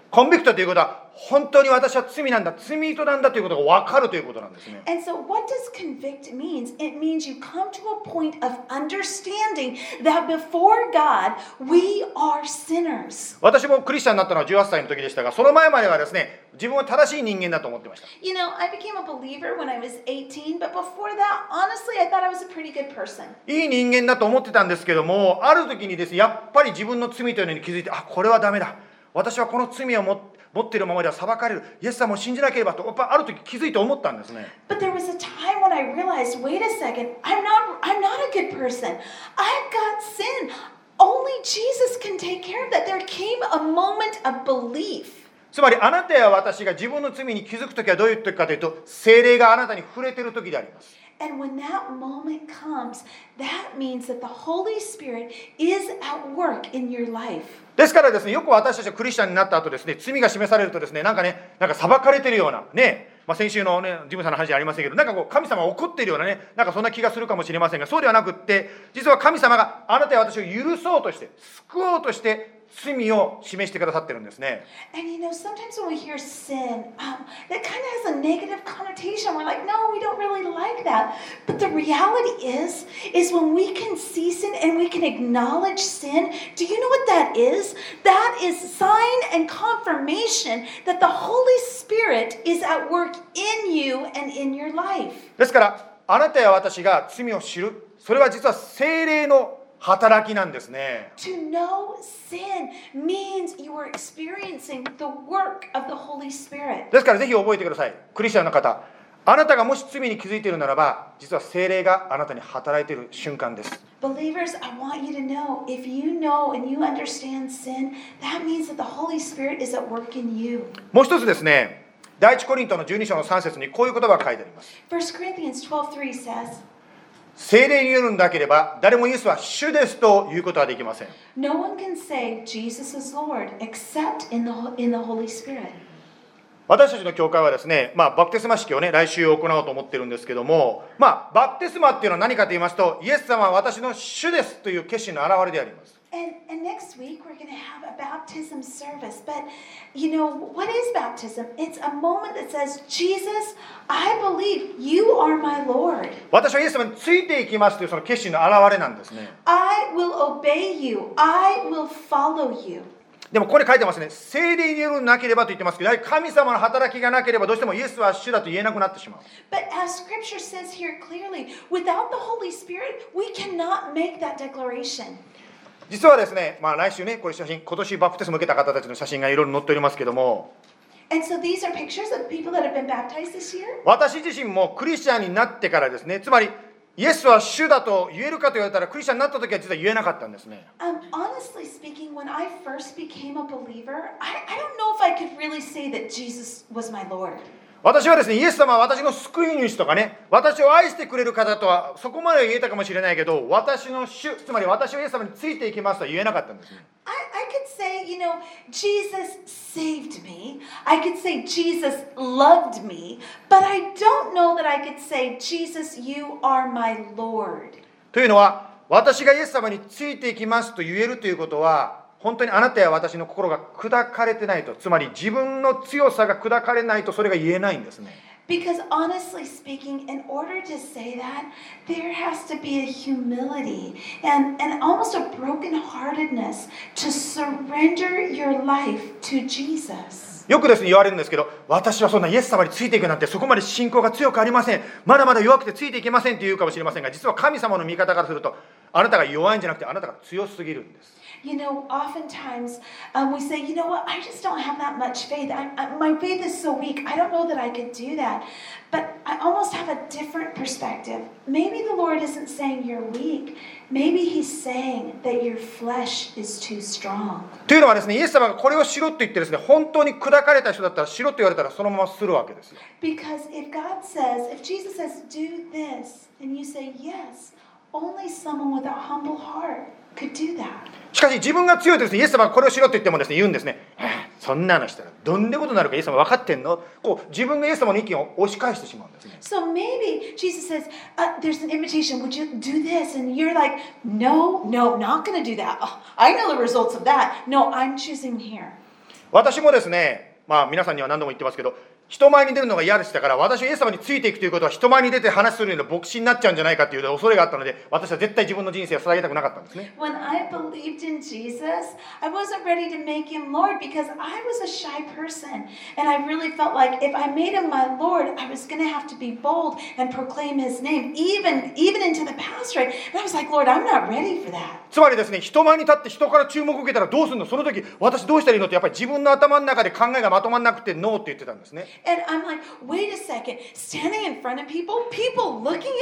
コンビクトということは、本当に私は罪なんだ、罪人なんだということが分かるということなんですね。 And so what does convict means? It means you come to a point of understanding that before God, we are sinners. 私もクリスチャンになったのは18歳の時でしたが、その前まではですね、自分は正しい人間だと思ってました。 You know, I became a believer when I was 18, but before that, honestly, I thought I was a pretty good person. いい人間だと思ってたんですけども、ある時にですね、やっぱり自分の罪というのに気づいて、あ、これはダメだ。私はこの罪を持っているままでは裁かれる。イエス様を信じなければと、やっぱある時気づいて思ったんですね。 But there was a time when I realized, wait a second, I'm not a good person. I've got sin. Only Jesus can take care of that. There came a moment of belief. つまりあなたや私が自分の罪に気づくときはどういう時かというと、聖霊があなたに触れている時であります。 And when that moment comes, that means that the Holy Spirit is at work in your life. ですからですね、よく私たちがクリスチャンになった後ですね、罪が示されるとですね、なんか裁かれてるようなね、先週のね、ジムさんの話じゃありませんけど、なんかこう神様が怒っているようなね、なんかそんな気がするかもしれませんが、そうではなくって、実は神様があなたや私を許そうとして、救おうとして、罪を示してくださってるんですね。 And you know, sometimes when we hear sin, that kind of has a negative connotation. We're like, no, we don't really like that. But the reality is when we can see sin and we can acknowledge sin, do you know what that is? That is sign and confirmation that the Holy Spirit is at work in you and in your life. ですから、あなたや私が罪を知る、それは実は聖霊の働きなんですね。 To know sin means you are experiencing the work of the Holy Spirit. ですからぜひ覚えてください。クリスチャンの方、あなたがもし罪に気づいているならば、実は聖霊があなたに働いている瞬間です。 Believers, I want you to know, if you know and you understand sin, that means that the Holy Spirit is at work in you. もう一つですね、第一コリントの12章の3節にこういう言葉が書いてあります。 1 Corinthians 12:3 says, 聖霊によるんだければ、誰もイエスは主ですということはできません。 No one can say Jesus is Lord except in the Holy Spirit. 私たちの教会はですね、バプテスマ式をね、来週行おうと思ってるんですけども、バプテスマっていうのは何かと言いますと、イエス様は私の主ですという決心の表れであります。 And next week we're going to have a baptism service. But you know, what is baptism? It's a moment that says, Jesus, I believe you are my Lord. 私はイエス様についていきますというその決心の表れなんですね。 I will obey you. I will follow you. でもここに書いてますね、聖霊によるなければと言ってますけど、やはり神様の働きがなければどうしてもイエスは主だと言えなくなってしまう。 But as Scripture says here clearly, without the Holy Spirit, we cannot make that declaration. 実はですね、来週ね、これ写真、今年バプテスマを受けた方たちの写真がいろいろ載っておりますけども、 And so these are pictures of people that have been baptized this year. 私自身もクリスチャンになってからですね、つまりイエスは主だと言えるかと言われたら、クリスチャンになった時は実は言えなかったんですね。 Honestly speaking, when I first became a believer, I don't know if I could really say that Jesus was my Lord. 私はですね、イエス様は私の救い主とかね、私を愛してくれる方とはそこまでは言えたかもしれないけど、私の主、つまり私はイエス様についていきますとは言えなかったんですね。 I could say, you know, Jesus saved me. I could say Jesus loved me. But I don't know that I could say, Jesus, you are my Lord. というのは、私がイエス様についていきますと言えるということは、本当にあなたや私の心が砕かれてないと、つまり自分の強さが砕かれないとそれが言えないんですね。 Because honestly speaking, in order to say that, there has to be a humility and almost a brokenheartedness to surrender your life to Jesus. よくですね言われるんですけど、私はそんなイエス様についていくなんてそこまで信仰が強くありません。まだまだ弱くてついていけませんって言うかもしれませんが、実は神様の見方からすると、あなたが弱いんじゃなくてあなたが強すぎるんです。 You know, oftentimes we say, you know what, I just don't have that much faith. My faith is so weak. I don't know that I could do that. But I almost have a different perspective. Maybe the Lord isn't saying you're weak. Maybe He's saying that your flesh is too strong. というのはですね、イエス様がこれをしろと言ってですね、本当に砕かれた人だったらしろと言われたらそのままするわけですよ。 Because if God says, if Jesus says, do this, and you say yes, only someone with a humble heart could do that. しかし自分が強いとですね、イエス様がこれをしろと言ってもですね、言うんですね。そんなのしたらどんなことになるかイエス様分かってんの？こう自分がイエス様の意見を押し返してしまうんですね。 So maybe Jesus says, there's an invitation, would you do this? And you're like, no, not going to do that. Oh, I know the results of that. No, I'm choosing here. 私もですね、皆さんには何度も言ってますけど、人前に出るのが嫌でしたから、私はイエス様についていくということは人前に出て話するような牧師になっちゃうんじゃないかという恐れがあったので、私は絶対自分の人生を捧げたくなかったんですね。 When I believed in Jesus, I wasn't ready to make him Lord because I was a shy person. And I really felt like if I made him my Lord, I was going to have to be bold and proclaim his name, even into the pastorate. And I was like, Lord, I'm not ready for that. つまりですね、人前に立って人から注目を受けたらどうするの、その時私どうしたらいいのって、やっぱり自分の頭の中で考えがまとまらなくてノーって言ってたんですね。 And I'm like, wait a second, standing in front of people looking at me?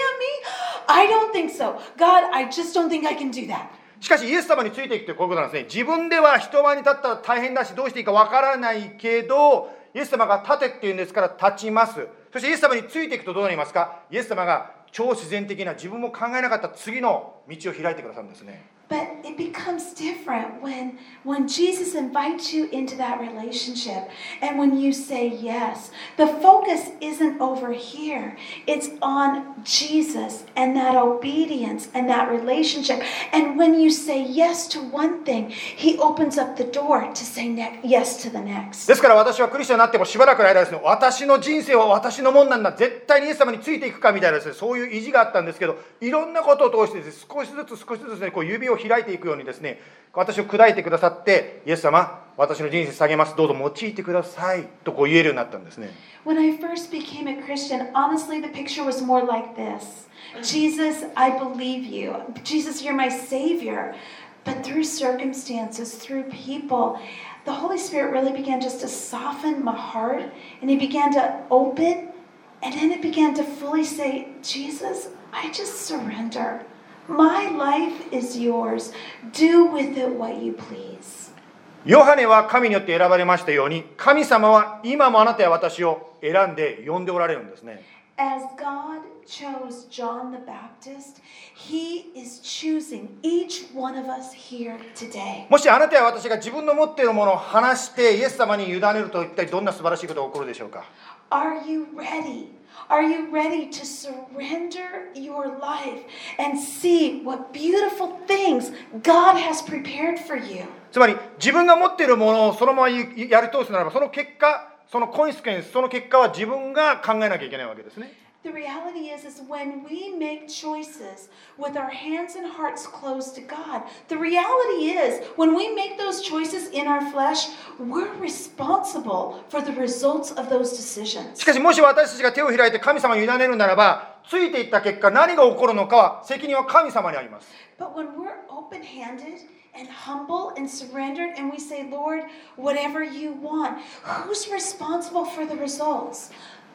I don't think so. God, I just don't think I can do that. しかしイエス様についていくというこういうことなんですね。自分では人前に立ったら大変だし、どうしていいかわからないけど、イエス様が立てっていうんですから立ちます。そしてイエス様についていくとどうなりますか。イエス様が超自然的な自分も考えなかった次の道を開いてくださるんですね。 But it becomes different when Jesus invites you into that relationship and when you say yes. The focus isn't over here. It's on Jesus and that obedience and that relationship. And when you say yes to one thing, He opens up the door to say yes to the next. ですから私はクリスチャンになってもしばらくの間ですね、私の人生は私のもんなんだ、絶対にイエス様についていくかみたいなですね、そういう意地があったんですけど、いろんなことを通してです、少しずつですね、こう指を開いていくようにですね、私を砕いてくださって、イエス様、私の人生下げます、どうぞ用いてくださいとこう言えるようになったんですね。 When I first became a Christian, honestly, the picture was more like this. Jesus, I believe you. Jesus, you're my Savior. But through circumstances, through people, the Holy Spirit really began just to soften my heart, and He began to open, and then it began to fully say, Jesus, I just surrender. My life is yours. Do with it what you please. ヨハネは神によって選ばれましたように、神様は今もあなたや私を選んで呼んでおられるんですね。 As God chose John the Baptist, He is choosing each one of us here today. もしあなたや私が自分の持っているものを話してイエス様に委ねると一体どんな素晴らしいことが起こるでしょうか。 Are you ready? Are you ready to surrender your life and see what beautiful things God has prepared for you? つまり自分が持っているものをそのままやり通すならば、その結果、そのコンシクエンス、その結果は自分が考えなきゃいけないわけですね。 The reality is when we make choices with our hands and hearts closed to God, the reality is when we make those choices in our flesh, we're responsible for the results of those decisions. しかしもし私たちが手を開いて神様に委ねるならば、ついていった結果何が起こるのかは責任は神様にあります。 But when we're open-handed and humble and surrendered and we say, Lord, whatever you want, who's responsible for the results?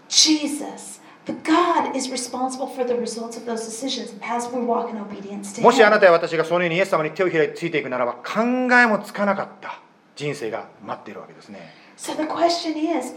Jesus. But God is responsible for the results of those decisions as we walk in obedience to Him. もしあなたや私がそのようにイエス様に手を開いてついていくならば、考えもつかなかった人生が待っているわけですね。 So the question is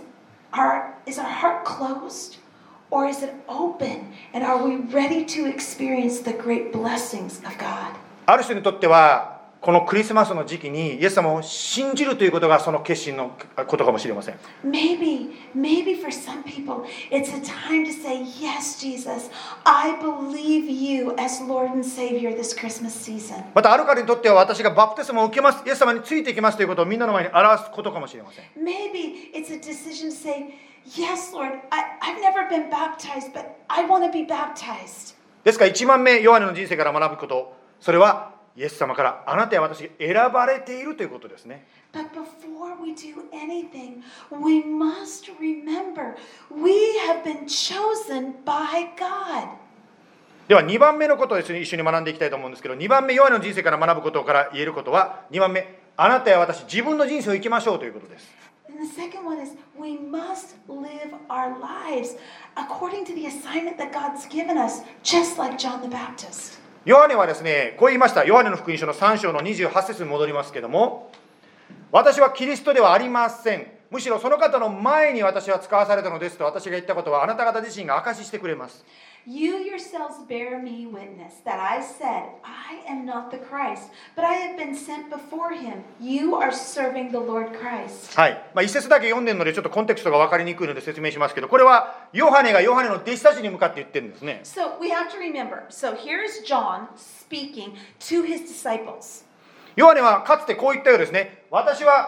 our heart closed or is it open? And are we ready to experience the great blessings of God? ある人にとってはこのクリスマスの時期にイエス様を信じるということがその決心のことかもしれません。 Maybe for some people, it's a time to say, yes, Jesus, I believe you as Lord and Savior this Christmas season. またある方にとっては私がバプテスマを受けます、イエス様についていきますということをみんなの前に表すことかもしれません。 Maybe it's a decision to say, yes, Lord, I've never been baptized, but I want to be baptized. ですから1番目、ヨハネの人生から学ぶこと、それはイエス様からあなたや私が選ばれているということですね。 But before we do anything, we must remember we have been chosen by God. では2番目のことを一緒に学んでいきたいと思うんですけど、2番目、ヨハネの人生から学ぶことから言えることは、2番目、あなたや私、自分の人生を生きましょうということです。 And the second one is we must live our lives according to the assignment that God's given us, just like John the Baptist. ヨハネはですね、こう言いました。ヨハネの福音書の3章の28節に戻りますけども、私はキリストではありません。むしろその方の前に私は使わされたのですと私が言ったことはあなた方自身が証ししてくれます。 You yourselves bear me witness that I said, I am not the Christ, but I have been sent before him. You are serving the Lord Christ. はい。一節だけ読んでるのでちょっとコンテクストが分かりにくいので説明しますけど、これはヨハネがヨハネの弟子たちに向かって言ってるんですね。 So we have to remember. So here's John speaking to his disciples. ヨハネはかつてこう言ったようですね。私は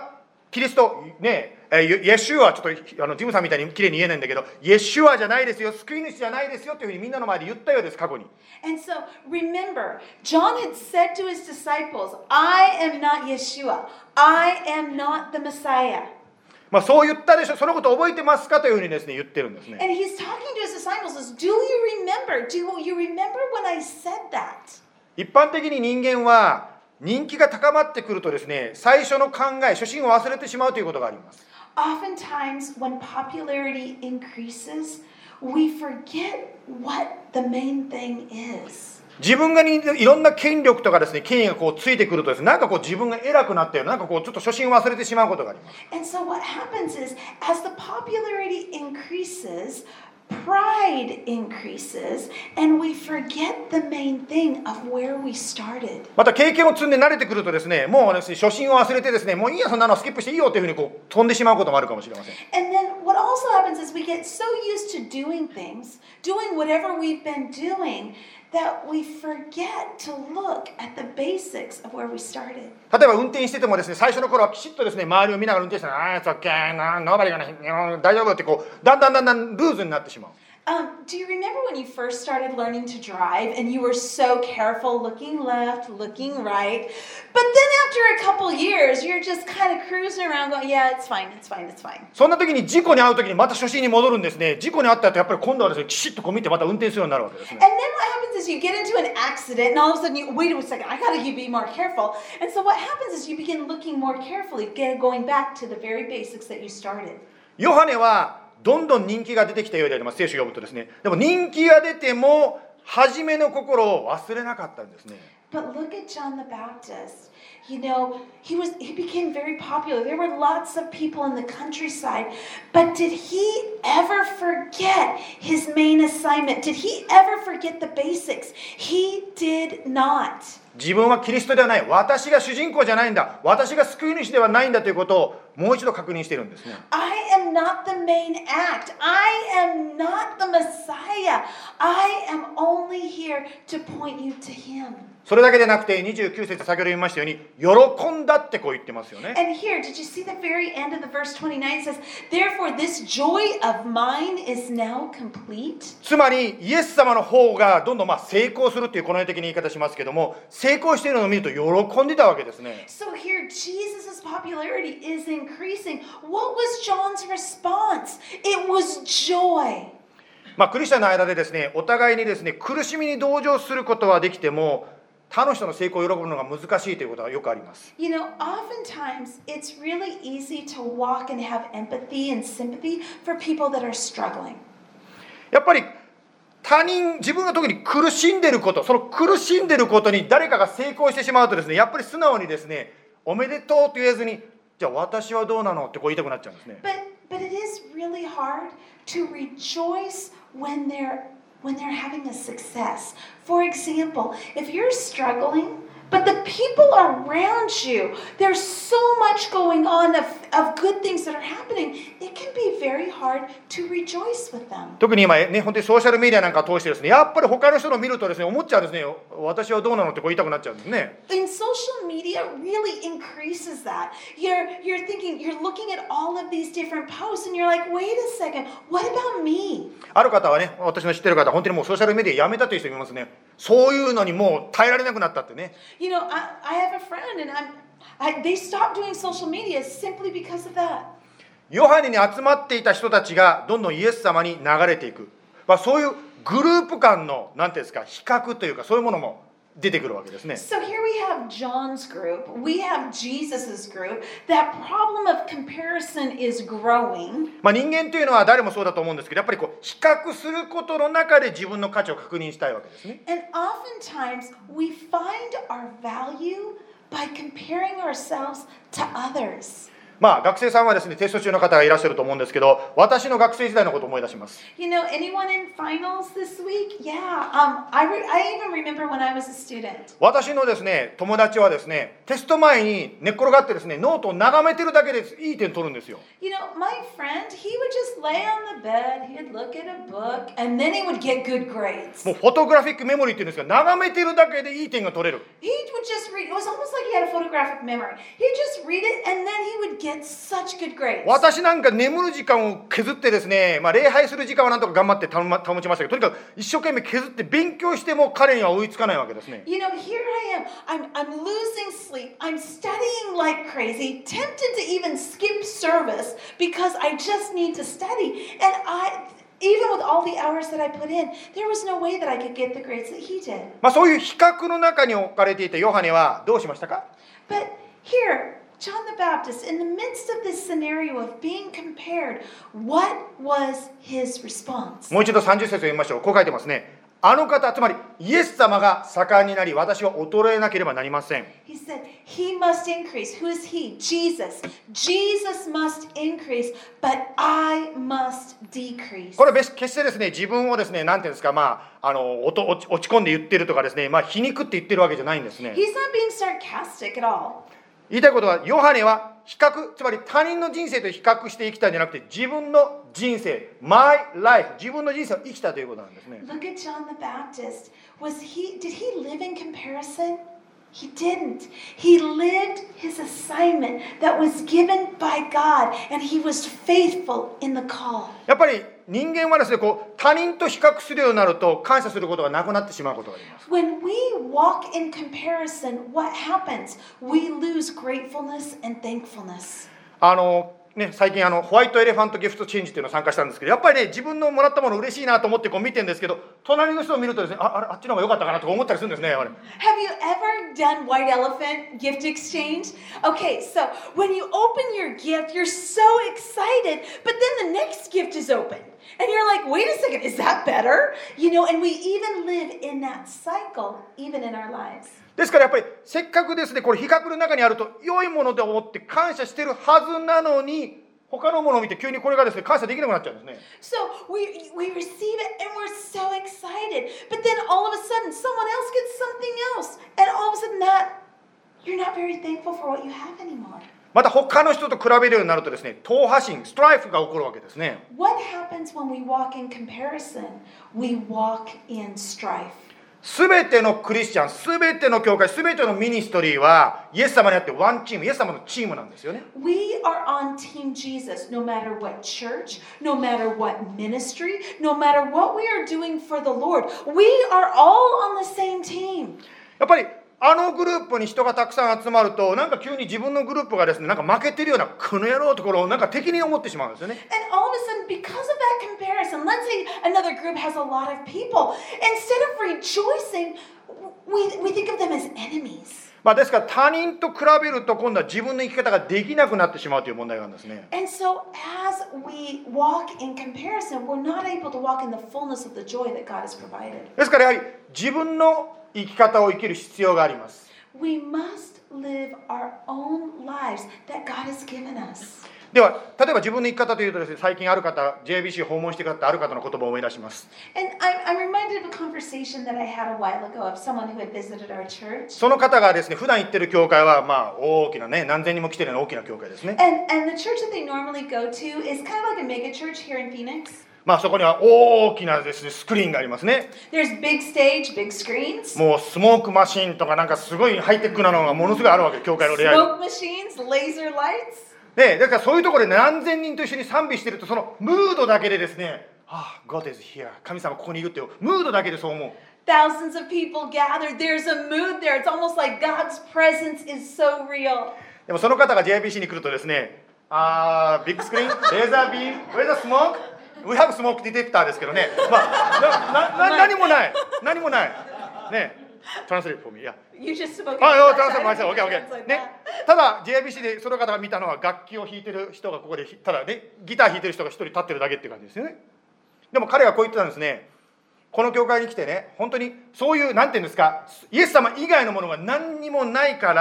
キリストね、イエシュア、ちょっとジムさんみたいにきれいに言えないんだけど、イエシュアじゃないですよ、救い主じゃないですよというふうにみんなの前で言ったようです、過去に。 And so remember, John had said to his disciples, I am not Yeshua. I am not the Messiah. まあそう言ったでしょ、そのこと覚えてますかというふうにですね、言ってるんですね。 And he's talking to his disciples, says, Do you remember when I said that? 一般的に人間は人気が高まってくるとですね、最初の考え、初心を忘れてしまうということがあります。 Oftentimes, when popularity increases, we forget what the main thing is. 自分がいろんな権力とかですね、権威がこうついてくるとですね、なんかこう自分が偉くなったような、なんかこうちょっと初心を忘れてしまうことがあります。 And so what happens is, as the popularity increases, pride increases, and we forget the main thing of where we started. また経験を積んで慣れてくるとですね、もうですね、初心を忘れてですね、もういいや、そんなのスキップしていいよというふうにこう飛んでしまうこともあるかもしれません。 And then what also happens is we get so used to doing things, doing whatever we've been doing, that we forget to look at the basics of where we started. 例えば運転しててもですね、最初の頃はきちっとですね、周りを見ながら運転してたら、it's okay, nobody gonna, 大丈夫ってこう、だんだんルーズになってしまう。 Do you remember when you first started learning to drive and you were so careful, looking left, looking right, but then after a couple years, you're just kind of cruising around going, yeah, it's fine. そんな時に事故に遭う時にまた初心に戻るんですね。事故に遭った後やっぱり今度はですね、きちっとこう見てまた運転するようになるわけですね。 And then what happens is you get into an accident and all of a sudden you, wait a second, I gotta be more careful. And so what happens is you begin looking more carefully, going back to the very basics that you started. ヨハネはどんどん人気が出てきたようであります。聖書を読むとですね。でも人気が出ても初めの心を忘れなかったんですね。 But look at John the Baptist. You know, he became very popular. There were lots of people in the countryside. But did he ever forget his main assignment? Did he ever forget the basics? He did not. 自分はキリストではない。私が主人公じゃないんだ。私が救い主ではないんだということをもう一度確認しているんですね。 I am not the main act. I am not the Messiah. I am only here to point you to him. それだけでなくて29節先ほど読みましたように喜んだってこう言ってますよね。 And here, did you see the very end of the verse 29? It says, Therefore this joy of mine is now complete. つまりイエス様の方がどんどん成功するっていうこの世的な言い方しますけども、成功しているのを見ると喜んでたわけですね。 So here, Jesus' popularity is increasing. What was John's response? It was joy. クリスチャンの間でですね、お互いにですね、苦しみに同情することはできても、他の人の成功を喜ぶのが難しいということがよくあります。 You know, oftentimes it's really easy to walk and have empathy and sympathy for people that are struggling. やっぱり自分が特に苦しんでいること、その苦しんでいることに誰かが成功してしまうとですね、やっぱり素直にですね、おめでとうと言えずに、じゃあ私はどうなのってこう言いたくなっちゃうんですね。 But it is really hard to rejoice when they're having a success. For example, if you're struggling, but the people around you, there's so much going on of good things that are happening, it can be very hard to rejoice with them. 特に今ね、本当にソーシャルメディアなんかを通してですね、やっぱり他の人のを見るとですね、思っちゃうんですね、私はどうなのってこう言いたくなっちゃうんですね。 And social media really increases that. You're thinking, you're looking at all of these different posts and you're like, wait a second, what about me? ある方はね、私の知ってる方、本当にもうソーシャルメディアやめたという人いますね。そういうのにもう耐えられなくなったってね。 You know, I have a friend and they stopped doing social media simply because of that. ヨハネに集まっていた人たちがどんどんイエス様に流れていく。そういうグループ間のなんていうんですか、比較というかそういうものも出てくるわけですね。 So here we have John's group, we have Jesus's group. That problem of comparison is growing. 人間というのは誰もそうだと思うんですけど、やっぱりこう比較することの中で自分の価値を確認したいわけですね。 And oftentimes we find our value by comparing ourselves to others. 学生さんはですね、テスト中の方がいらっしゃると思うんですけど、私の学生時代のことを思い出します。 You know, anyone in finals this week? Yeah. I even remember when I was a student. 私のですね、友達はですね、テスト前に寝っ転がってですね、ノートを眺めてるだけでいい点取るんですよ。 You know, my friend, he would just lay on the bed, he'd look at a book, and then he would get good grades. もうフォトグラフィックメモリーっていうんですが、眺めてるだけでいい点が取れる。 He would just read. It was almost like he had a photographic memory. He'd just read it, and then he would get get such good grades. 私なんか眠る時間を削ってですね、礼拝する時間はなんとか頑張って保ちましたけど、とにかく一生懸命削って勉強しても彼には追いつかないわけですね。 You know, here I am. I'm losing sleep. I'm studying like crazy, tempted to even skip service because I just need to study. And even with all the hours that I put in, there was no way that I could get the grades that he did. そういう比較の中に置かれていたヨハネはどうしましたか？ But here, John the Baptist, in the midst of this scenario of being compared, what was his response? もう一度30節を読みましょう。こう書いてますね。あの方、つまりイエス様が盛んになり、私は衰えなければなりません。 He said, he must increase. Who is he? Jesus. Jesus must increase, but I must decrease. これは決してですね、自分をですね、なんていうんですか、落ち込んで言ってるとかですね、皮肉って言ってるわけじゃないんですね。 He's not being sarcastic at all. 言いたいことは、ヨハネは比較、つまり他人の人生と比較して生きたんじゃなくて、自分の人生、my life、自分の人生を生きたということなんですね。 Look at John the Baptist. Did he live in comparison? He didn't. He lived his assignment that was given by God, and he was faithful in the call. やっぱり人間はですね、他人と比較するようになると感謝することがなくなってしまうことがあります。 When we walk in comparison, what happens? We lose gratefulness and thankfulness. 最近ホワイトエレファントギフトチェンジっていうのを参加したんですけど、やっぱりね、自分のもらったもの嬉しいなと思って見てるんですけど、隣の人を見るとですね、あっちの方が良かったかなとか思ったりするんですね。 Have you ever done white elephant gift exchange? Okay, so when you open your gift, you're so excited, but then the next gift is open. And you're like, wait a second, is that better? You know, and we even live in that cycle, even in our lives. ですからやっぱりせっかくですね、これ比較の中にあると良いものと思って感謝してるはずなのに、他のものを見て急にこれがですね、感謝できなくなっちゃうんですね。 So we receive it and we're so excited, but then all of a sudden someone else gets something else, and all of a sudden you're not very thankful for what you have anymore. また他の人と比べるようになるとですね、党派心、ストライフが起こるわけですね。 What happens when we walk in comparison? We walk in strife. すべてのクリスチャン、すべての教会、すべてのミニストリーはイエス様にあってワンチーム、イエス様のチームなんですよね。 We are on Team Jesus, no matter what church, no matter what ministry, no matter what we are doing for the Lord. We are all on the same team. やっぱりグループに人がたくさん集まると、なんか急に自分のグループがですね、なんか負けてるような、この野郎ところをなんか敵に思ってしまうんですよね。 And all of a sudden, because of that comparison, let's say another group has a lot of people. Instead of rejoicing, we think of them as enemies. ですから他人と比べると今度は自分の生き方ができなくなってしまうという問題があるんですね。 And so as we walk in comparison, we're not able to walk in the fullness of the joy that God has provided. ですからやはり自分の生き方を生きる必要があります。 We must live our own lives that God has given us. では、例えば自分の生き方というとですね、最近ある方、JBC 訪問してくださったある方の言葉を思い出します。 And I'm reminded of a conversation that I had a while ago of someone who had visited our church. その方がですね、普段行ってる教会は大きなね、何千人も来てるような大きな教会ですね。 And the church that they normally go to is kind of like a mega church here in Phoenix. そこには大きなですね、スクリーンがありますね。 There's big stage, big screens. もうスモークマシーンとかなんかすごいハイテクなのがものすごいあるわけ、教会の礼拝。 Smoke machines, laser lights. だからそういうところで何千人と一緒に賛美してると、そのムードだけでですね、God is here、神様ここにいるっていうムードだけでそう思う。 Thousands of people gathered. There's a mood there. It's almost like God's presence is so real. でもその方が JBC に来るとですね、ビッグスクリーン、レーザービーム、Where's the smoke？We have smoke detector ですけどね。何もない。何もない。ね。Translate for me. Yeah. You just spoke. Translate myself. Okay, okay. ね。ただ JBC でその方が見たのは楽器を弾いてる人がここでただね、ギター弾いてる人が一人立ってるだけっていう感じですよね。でも彼はこう言ってたんですね。この教会に来てね、本当にそういうなんていうんですか、イエス様以外のものが何にもないから、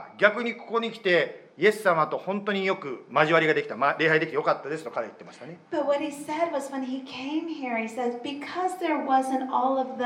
逆にここに来て。イエス様と本当によく交わりができた、礼拝できてよかったですと彼は言ってましたね。 But what he said was when he came here, he said, because there wasn't all of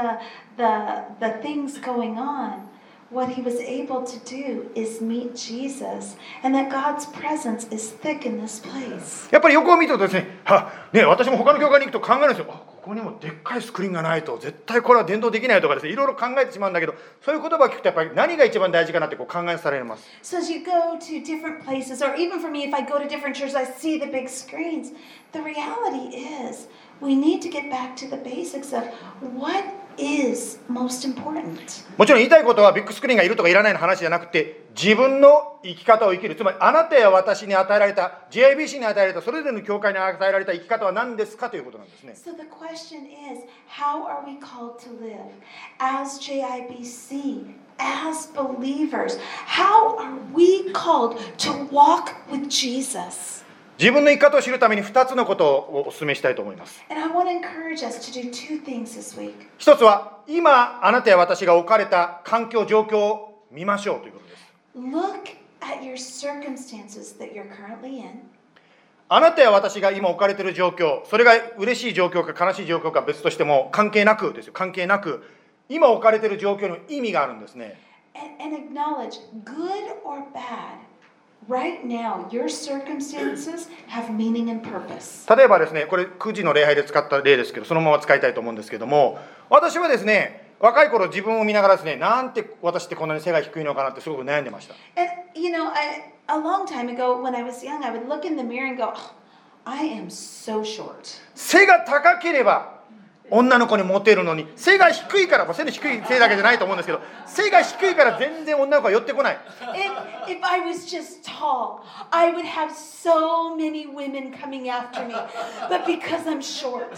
the things going on, what he was able to do is meet Jesus, and that God's presence is thick in this place. やっぱり横を見るとですね、私も他の教会に行くと考えるんですよ。ここにもでっかいスクリーンがないと絶対これは伝道できないとかですね、いろいろ考えてしまうんだけど、そういう言葉を聞くとやっぱり何が一番大事かなってこう考えされます。 So as you go to different places, or even for me, if I go to different churches, I see the big screens. The reality is we need to get back to the basics of what is most important. もちろん言いたいことはビッグスクリーンがいるとかいらないの話じゃなくて、自分の生き方を生きる、つまりあなたや私に与えられた GIBC に与えられたそれぞれの教会に与えられた生き方は何ですかということなんですね。 So the question is, how are we called to live as JIBC, as believers? How are we called to walk with Jesus? 自分の生き方を知るために2つのことをお勧めしたいと思います。 And I want to encourage us to do two things this week. 一つは今あなたや私が置かれた環境状況を見ましょうということです。 Look at your circumstances that you're currently in. あなたや私が今置かれている状況、それが嬉しい状況か悲しい状況か別としても関係なくですよ、関係なく今置かれている状況に意味があるんですね。 And acknowledge, good or bad, right now your circumstances have meaning and purpose. 例えばですね、これ9時の礼拝で使った例ですけど、そのまま使いたいと思うんですけども、私はですね、若い頃自分を見ながらですね、なんて私ってこんなに背が低いのかなってすごく悩んでました。 And a long time ago when I was young, I would look in the mirror and go, oh, I am so short. 背が高ければ女の子にモテるのに、背が低いから、背の低い背だけじゃないと思うんですけど、背が低いから全然女の子は寄ってこない。 If I was just tall, I would have so many women coming after me. But because I'm short,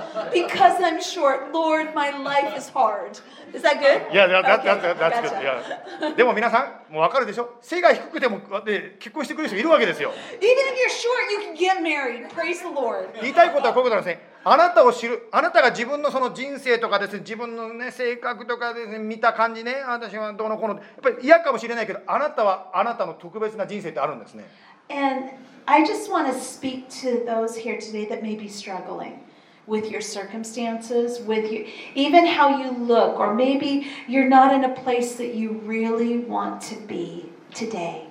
Lord, my life is hard. Is that good? いや、that's Okay, good. gotcha. いやでも皆さん、もう分かるでしょ、背が低くても結婚してくる人いるわけですよ。 Even if you're short, you can get married. Praise the Lord. 言いたいことはこういうことなんですね。あなたを知る、あなたが自分のその人生とかですね、自分のね性格とかですね、見た感じね、私はどうのこうの、やっぱり嫌かもしれないけど、あなたはあなたの特別な人生ってあるんですね。 And I just want to speak to those here today that may be struggling with your circumstances, with you, even how you look, or maybe you're not in a place that you really want to be today.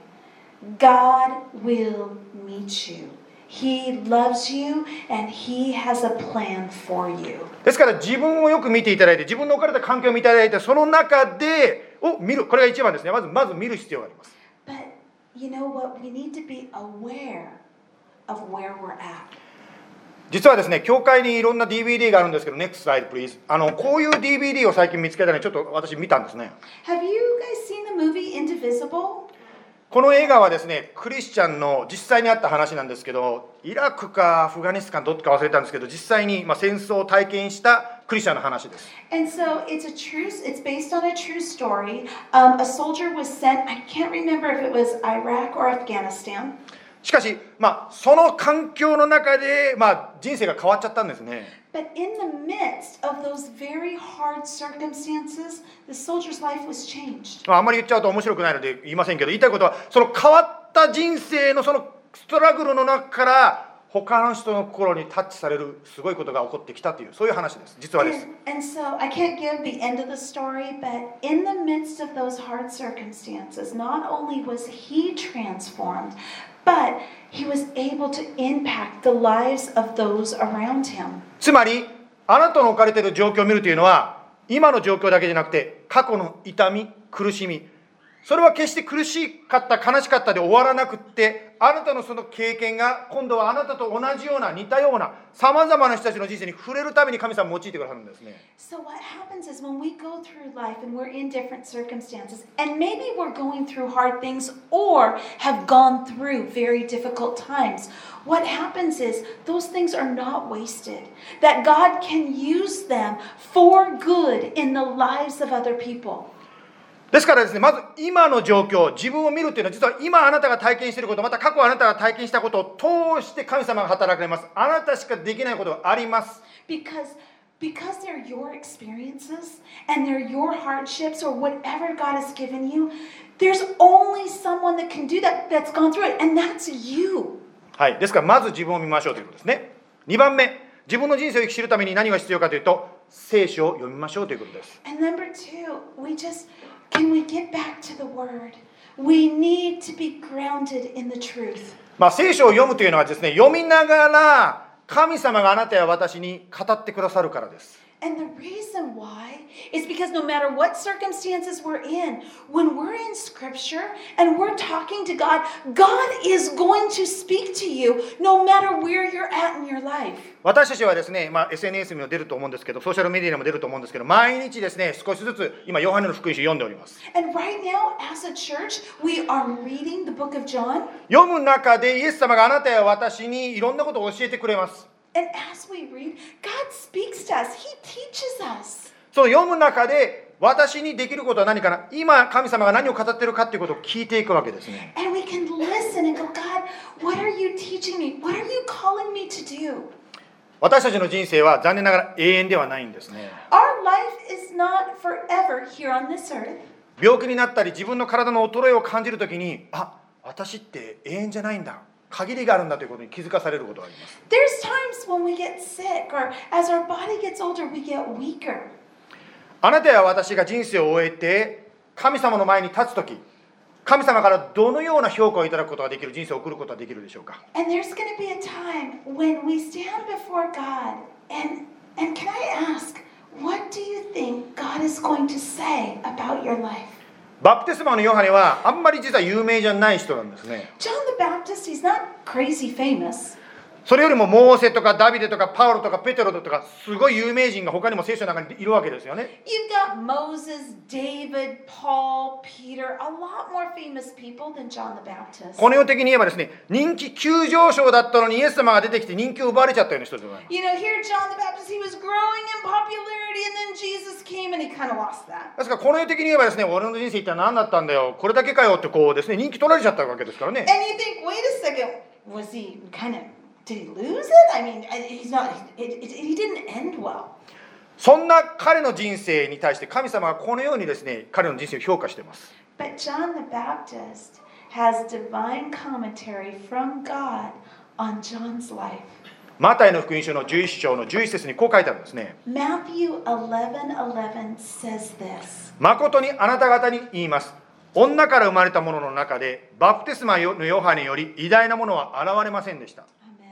God will meet you. He loves you and He has a plan for you. ですから自分をよく見ていただいて、自分の置かれた環境を見ていただいて、その中でを見る、これが一番ですね。まず見る必要があります。 But you know what? We need to be aware of where we're at. 実はですね、教会にいろんな DVD があるんですけど、Next slide please。こういう DVD を最近見つけたので、ちょっと私見たんですね。 Have you guys seen the movie Indivisible? この映画はですね、クリスチャンの実際にあった話なんですけど、イラクかアフガニスタンどっちか忘れたんですけど、実際に戦争を体験したクリスチャンの話です。 And so it's based on a true story. A soldier was sent, I can't remember if it was Iraq or Afghanistan. しかし、その環境の中で、人生が変わっちゃったんですね。 But in the midst of those very hard circumstances, the soldier's life was changed. あんまり言っちゃうと面白くないので言いませんけど、言いたいことは、その変わった人生のそのストラグルの中から他の人の心にタッチされるすごいことが起こってきたという、そういう話です。実はです。 And so I can't give the end of the story, but in the midst of those hard circumstances, not only was he transformed, but he was able to impact the lives of those around him. つまり、あなたの置かれている状況を見るというのは、今の状況だけじゃなくて、過去の痛み、苦しみ、それは決して苦しかった、悲しかったで終わらなくって、あなたのその経験が、今度はあなたと同じような、似たような、さまざまな人たちの人生に触れるために神様を用いてくださるんですね。 So what happens is when we go through life and we're in different circumstances, and maybe we're going through hard things or have gone through very difficult times, what happens is those things are not wasted. That God can use them for good in the lives of other people. ですからですね、まず今の状況、自分を見るというのは、実は今あなたが体験していること、また過去あなたが体験したことを通して神様が働かれます。あなたしかできないことがあります。 Because they're your experiences and they're your hardships or whatever God has given you, there's only someone that can do that, that's gone through it, and that's you. はい、ですからまず自分を見ましょうということですね。2番目、自分の人生を生き知るために何が必要かというと、聖書を読みましょうということです。 And number two, can we get back to the Word? We need to be grounded in the truth. 聖書を読むというのはですね、読みながら神様があなたや私に語ってくださるからです。 And the reason why is because no matter what circumstances we're in, when we're in Scripture and we're talking to God, God is going to speak to you no matter where you're at in your life. 私たちはですね、SNS にも出ると思うんですけど、ソーシャルメディアにも出ると思うんですけど、毎日ですね、少しずつ今ヨハネの福音書を読んでおります。 And right now, as a church, we are reading the book of John. 読む中でイエス様があなたや私にいろんなことを教えてくれます。 And as we read, God speaks to us. He teaches us. その読む中で私にできることは何かな、今神様が何を語っているかということを聞いていくわけですね。 And we can listen and go, God, what are you teaching me? What are you calling me to do? 私たちの人生は残念ながら永遠ではないんですね。 Our life is not forever here on this earth. 病気になったり自分の体の衰えを感じるときに、私って永遠じゃないんだ、限りがあるんだということに気づかされることがあります。 There's times when we get sick or as our body gets older, we get weaker. あなたや私が人生を終えて神様の前に立つとき、神様からどのような評価をいただくことができる人生を送ることができるでしょうか。 And there's going to be a time when we stand before God and can I ask, what do you think God is going to say about your life? バプテスマのヨハネはあんまり実は有名じゃない人なんですね。 John the Baptist, he's not crazy famous. それよりもモーセとかダビデとかパウロとかペテロとかすごい有名人が他にも聖書の中にいるわけですよね。 You've got Moses, David, Paul, Peter, a lot more famous people than John the Baptist. この世的に言えばですね、人気急上昇だったのにイエス様が出てきて人気を奪われちゃったような人でございます。 You know, here John the Baptist, he was growing in popularity and then Jesus came and he kind of lost that. ですからこの世的に言えばですね、俺の人生一体何だったんだよ、これだけかよってこうですね、人気取られちゃったわけですからね。 And you think, wait a second, was he kind of, did he lose it? I mean, he's not, he didn't end well. そんな彼の人生に対して神様はこのようにですね、彼の人生を評価しています。 But John the Baptist has divine commentary from God on John's life. マタイの福音書の11章の11節にこう書いてあるんですね。 Matthew 11:11 says this. 誠にあなた方に言います。女から生まれた者の中でバプテスマのヨハネより偉大なものは現れませんでした。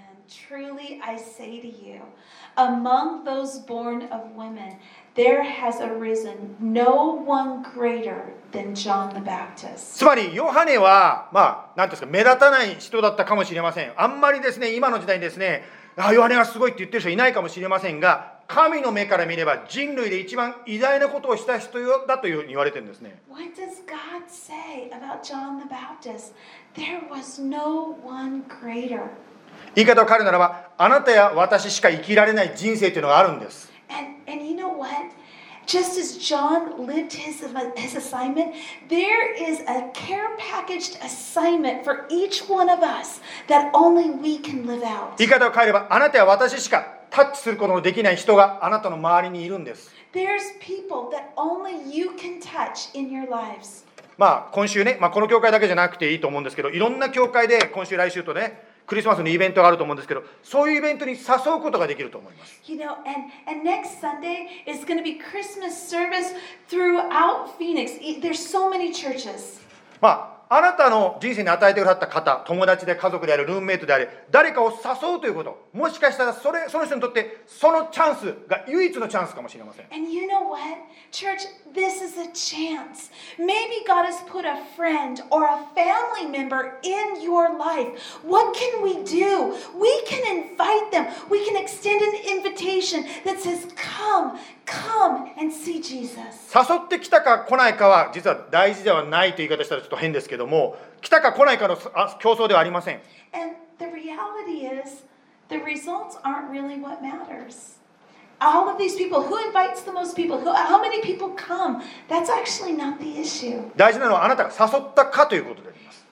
Truly I say to you, among those born of women, there has arisen no one greater than John the Baptist. つまりヨハネは何ですか、目立たない人だったかもしれません。あんまりですね、今の時代にですね、ヨハネはすごいって言ってる人いないかもしれませんが、神の目から見れば人類で一番偉大なことをした人だというふうに言われてるんですね。 What does God say about John the Baptist? There was no one greater. 言い方を変えるならば、あなたや私しか生きられない人生というのがあるんです。 And you know what? Just as John lived his assignment, there is a care packaged assignment for each one of us that only we can live out. 言い方を変えれば、あなたや私しかタッチすることのできない人があなたの周りにいるんです。 There's people that only you can touch in your lives. 今週ね、この教会だけじゃなくていいと思うんですけど、いろんな教会で今週来週とね、クリスマスのイベントがあると思うんですけど、そういうイベントに誘うことができると思います。 You know, and next Sunday is going to be Christmas service throughout Phoenix. There's so many churches. あなたの人生に与えてくださった方、友達で家族である、ルームメイトであれ、誰かを誘うということ、もしかしたらその人にとってそのチャンスが唯一のチャンスかもしれません。 And you know what? Church, this is a chance. Maybe God has put a friend or a family member in your life. What can we do? We can invite them. We can extend an invitation that says, come and see Jesus. 誘ってきたか来ないかは実は大事ではないという言い方したらちょっと変ですけども、来たか来ないかの競争ではありません。 And the reality is, the results aren't really what matters. All of these people, who invites the most people? How many people come? That's actually not the issue. 大事なのはあなたが誘ったかということであります。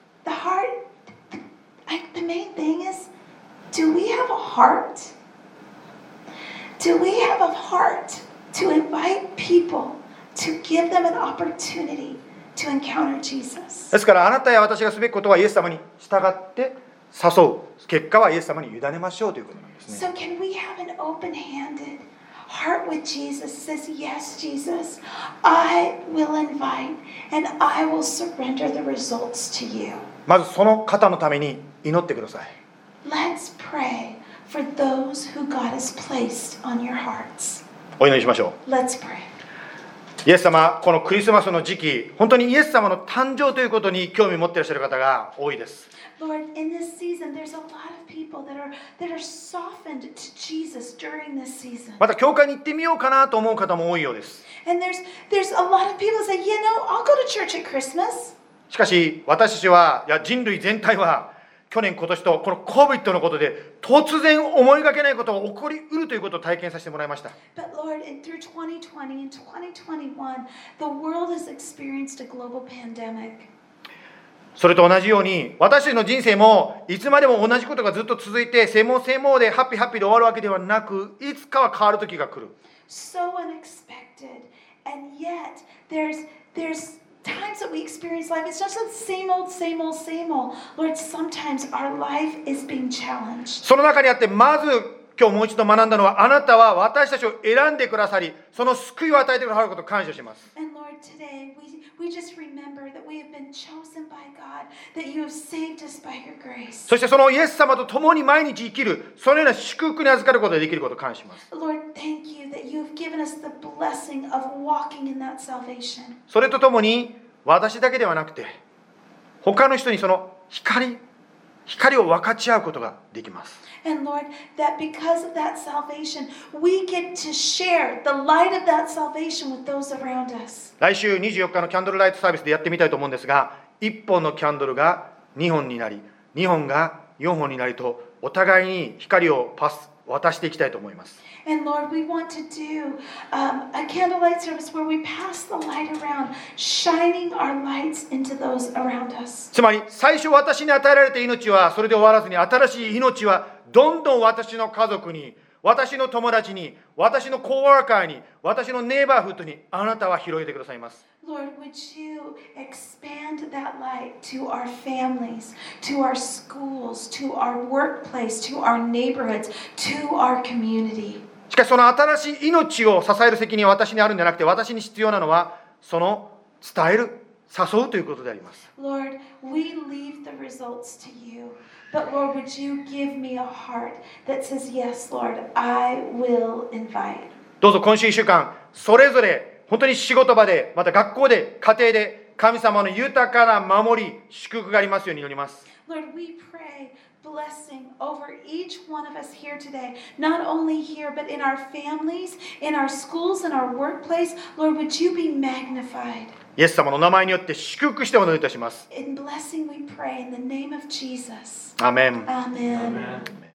The main thing is, do we have a heart? Do we have a heart to invite people, to give them an opportunity to encounter Jesus? ですからあなたや私がすべきことはイエス様に従って誘う。結果はイエス様に委ねましょうということなんですね。 So can we have an open-handed heart with Jesus? Says, yes, Jesus, I will invite and I will surrender the results to you. まずその方のために祈ってください。 Let's pray for those who God has placed on your hearts. お祈りしましょ Let's pray. う。イエス様、このクリスマスの時期、本当にイエス様の誕生ということに興味を持っていらっしゃる方が多いです。 Lord, in this season, there's a lot of people that are softened to Jesus during this season. また教会に行ってみようかなと思う方も多いようです。 And there's a lot of people that say, you know, I'll go to church at Christmas. しかし私たちは、いや人類全体は去年今年とこの COVID のことで突然思いがけないことが起こりうるということを体験させてもらいました。 But Lord, through 2020 and 2021, the world has experienced a global pandemic. それと同じように私たちの人生もいつまでも同じことがずっと続いてセモでハッピーで終わるわけではなく、いつかは変わる時が来る。 So unexpected. And yet, there's times that we experience life. It's just the same old. Lord, sometimes our life is being challenged. その中にあってまず今日もう一度学んだのは、あなたは私たちを選んでくださり、その救いを与えてくださることを感謝します。 And Lord, today we just remember that we have been chosen by God, that you have saved us by your grace. そしてそのイエス様と共に毎日生きる、そのような祝福に預かることができることを感謝します。 Lord, thank you that you have given us the blessing of walking in that salvation. それとともに私だけではなくて他の人にその光を分かち合うことができます。 And Lord, that because of that salvation, we get to share the light of that salvation with those around us. 来週24日のキャンドルライトサービスでやってみたいと思うんですが、1本のキャンドルが2本になり、2本が4本になりと、お互いに光を渡していきたいと思います。 And Lord, we want to do a candlelight service where we pass the light around, shining our lights into those around us. つまり最初私に与えられた命はそれで終わらずに、新しい命はどんどん私の家族に、私の友達に、私のコーワーカーに、私のネイバーフッドにあなたは広げてくださいます。 Lord, would you expand that light to our families, to our schools, to our workplace, to our neighborhoods, to our community. しかしその新しい命を支える責任は私にあるんじゃなくて、私に必要なのはその伝える、誘うということであります。 Lord, we leave the results to you. But Lord, would you give me a heart that says, yes, Lord, I will invite. どうぞ今週1週間、それぞれ本当に仕事場で、また学校で、家庭で神様の豊かな守り、祝福がありますように祈ります。 Lord, we pray blessing over each one of us here today, not only here, but in our families, in our schools, in our workplace. Lord, would you be magnified? イエス様の名前によって祝福してお祈りいたします。 In blessing we pray in the name of Jesus. アーメン。 Amen.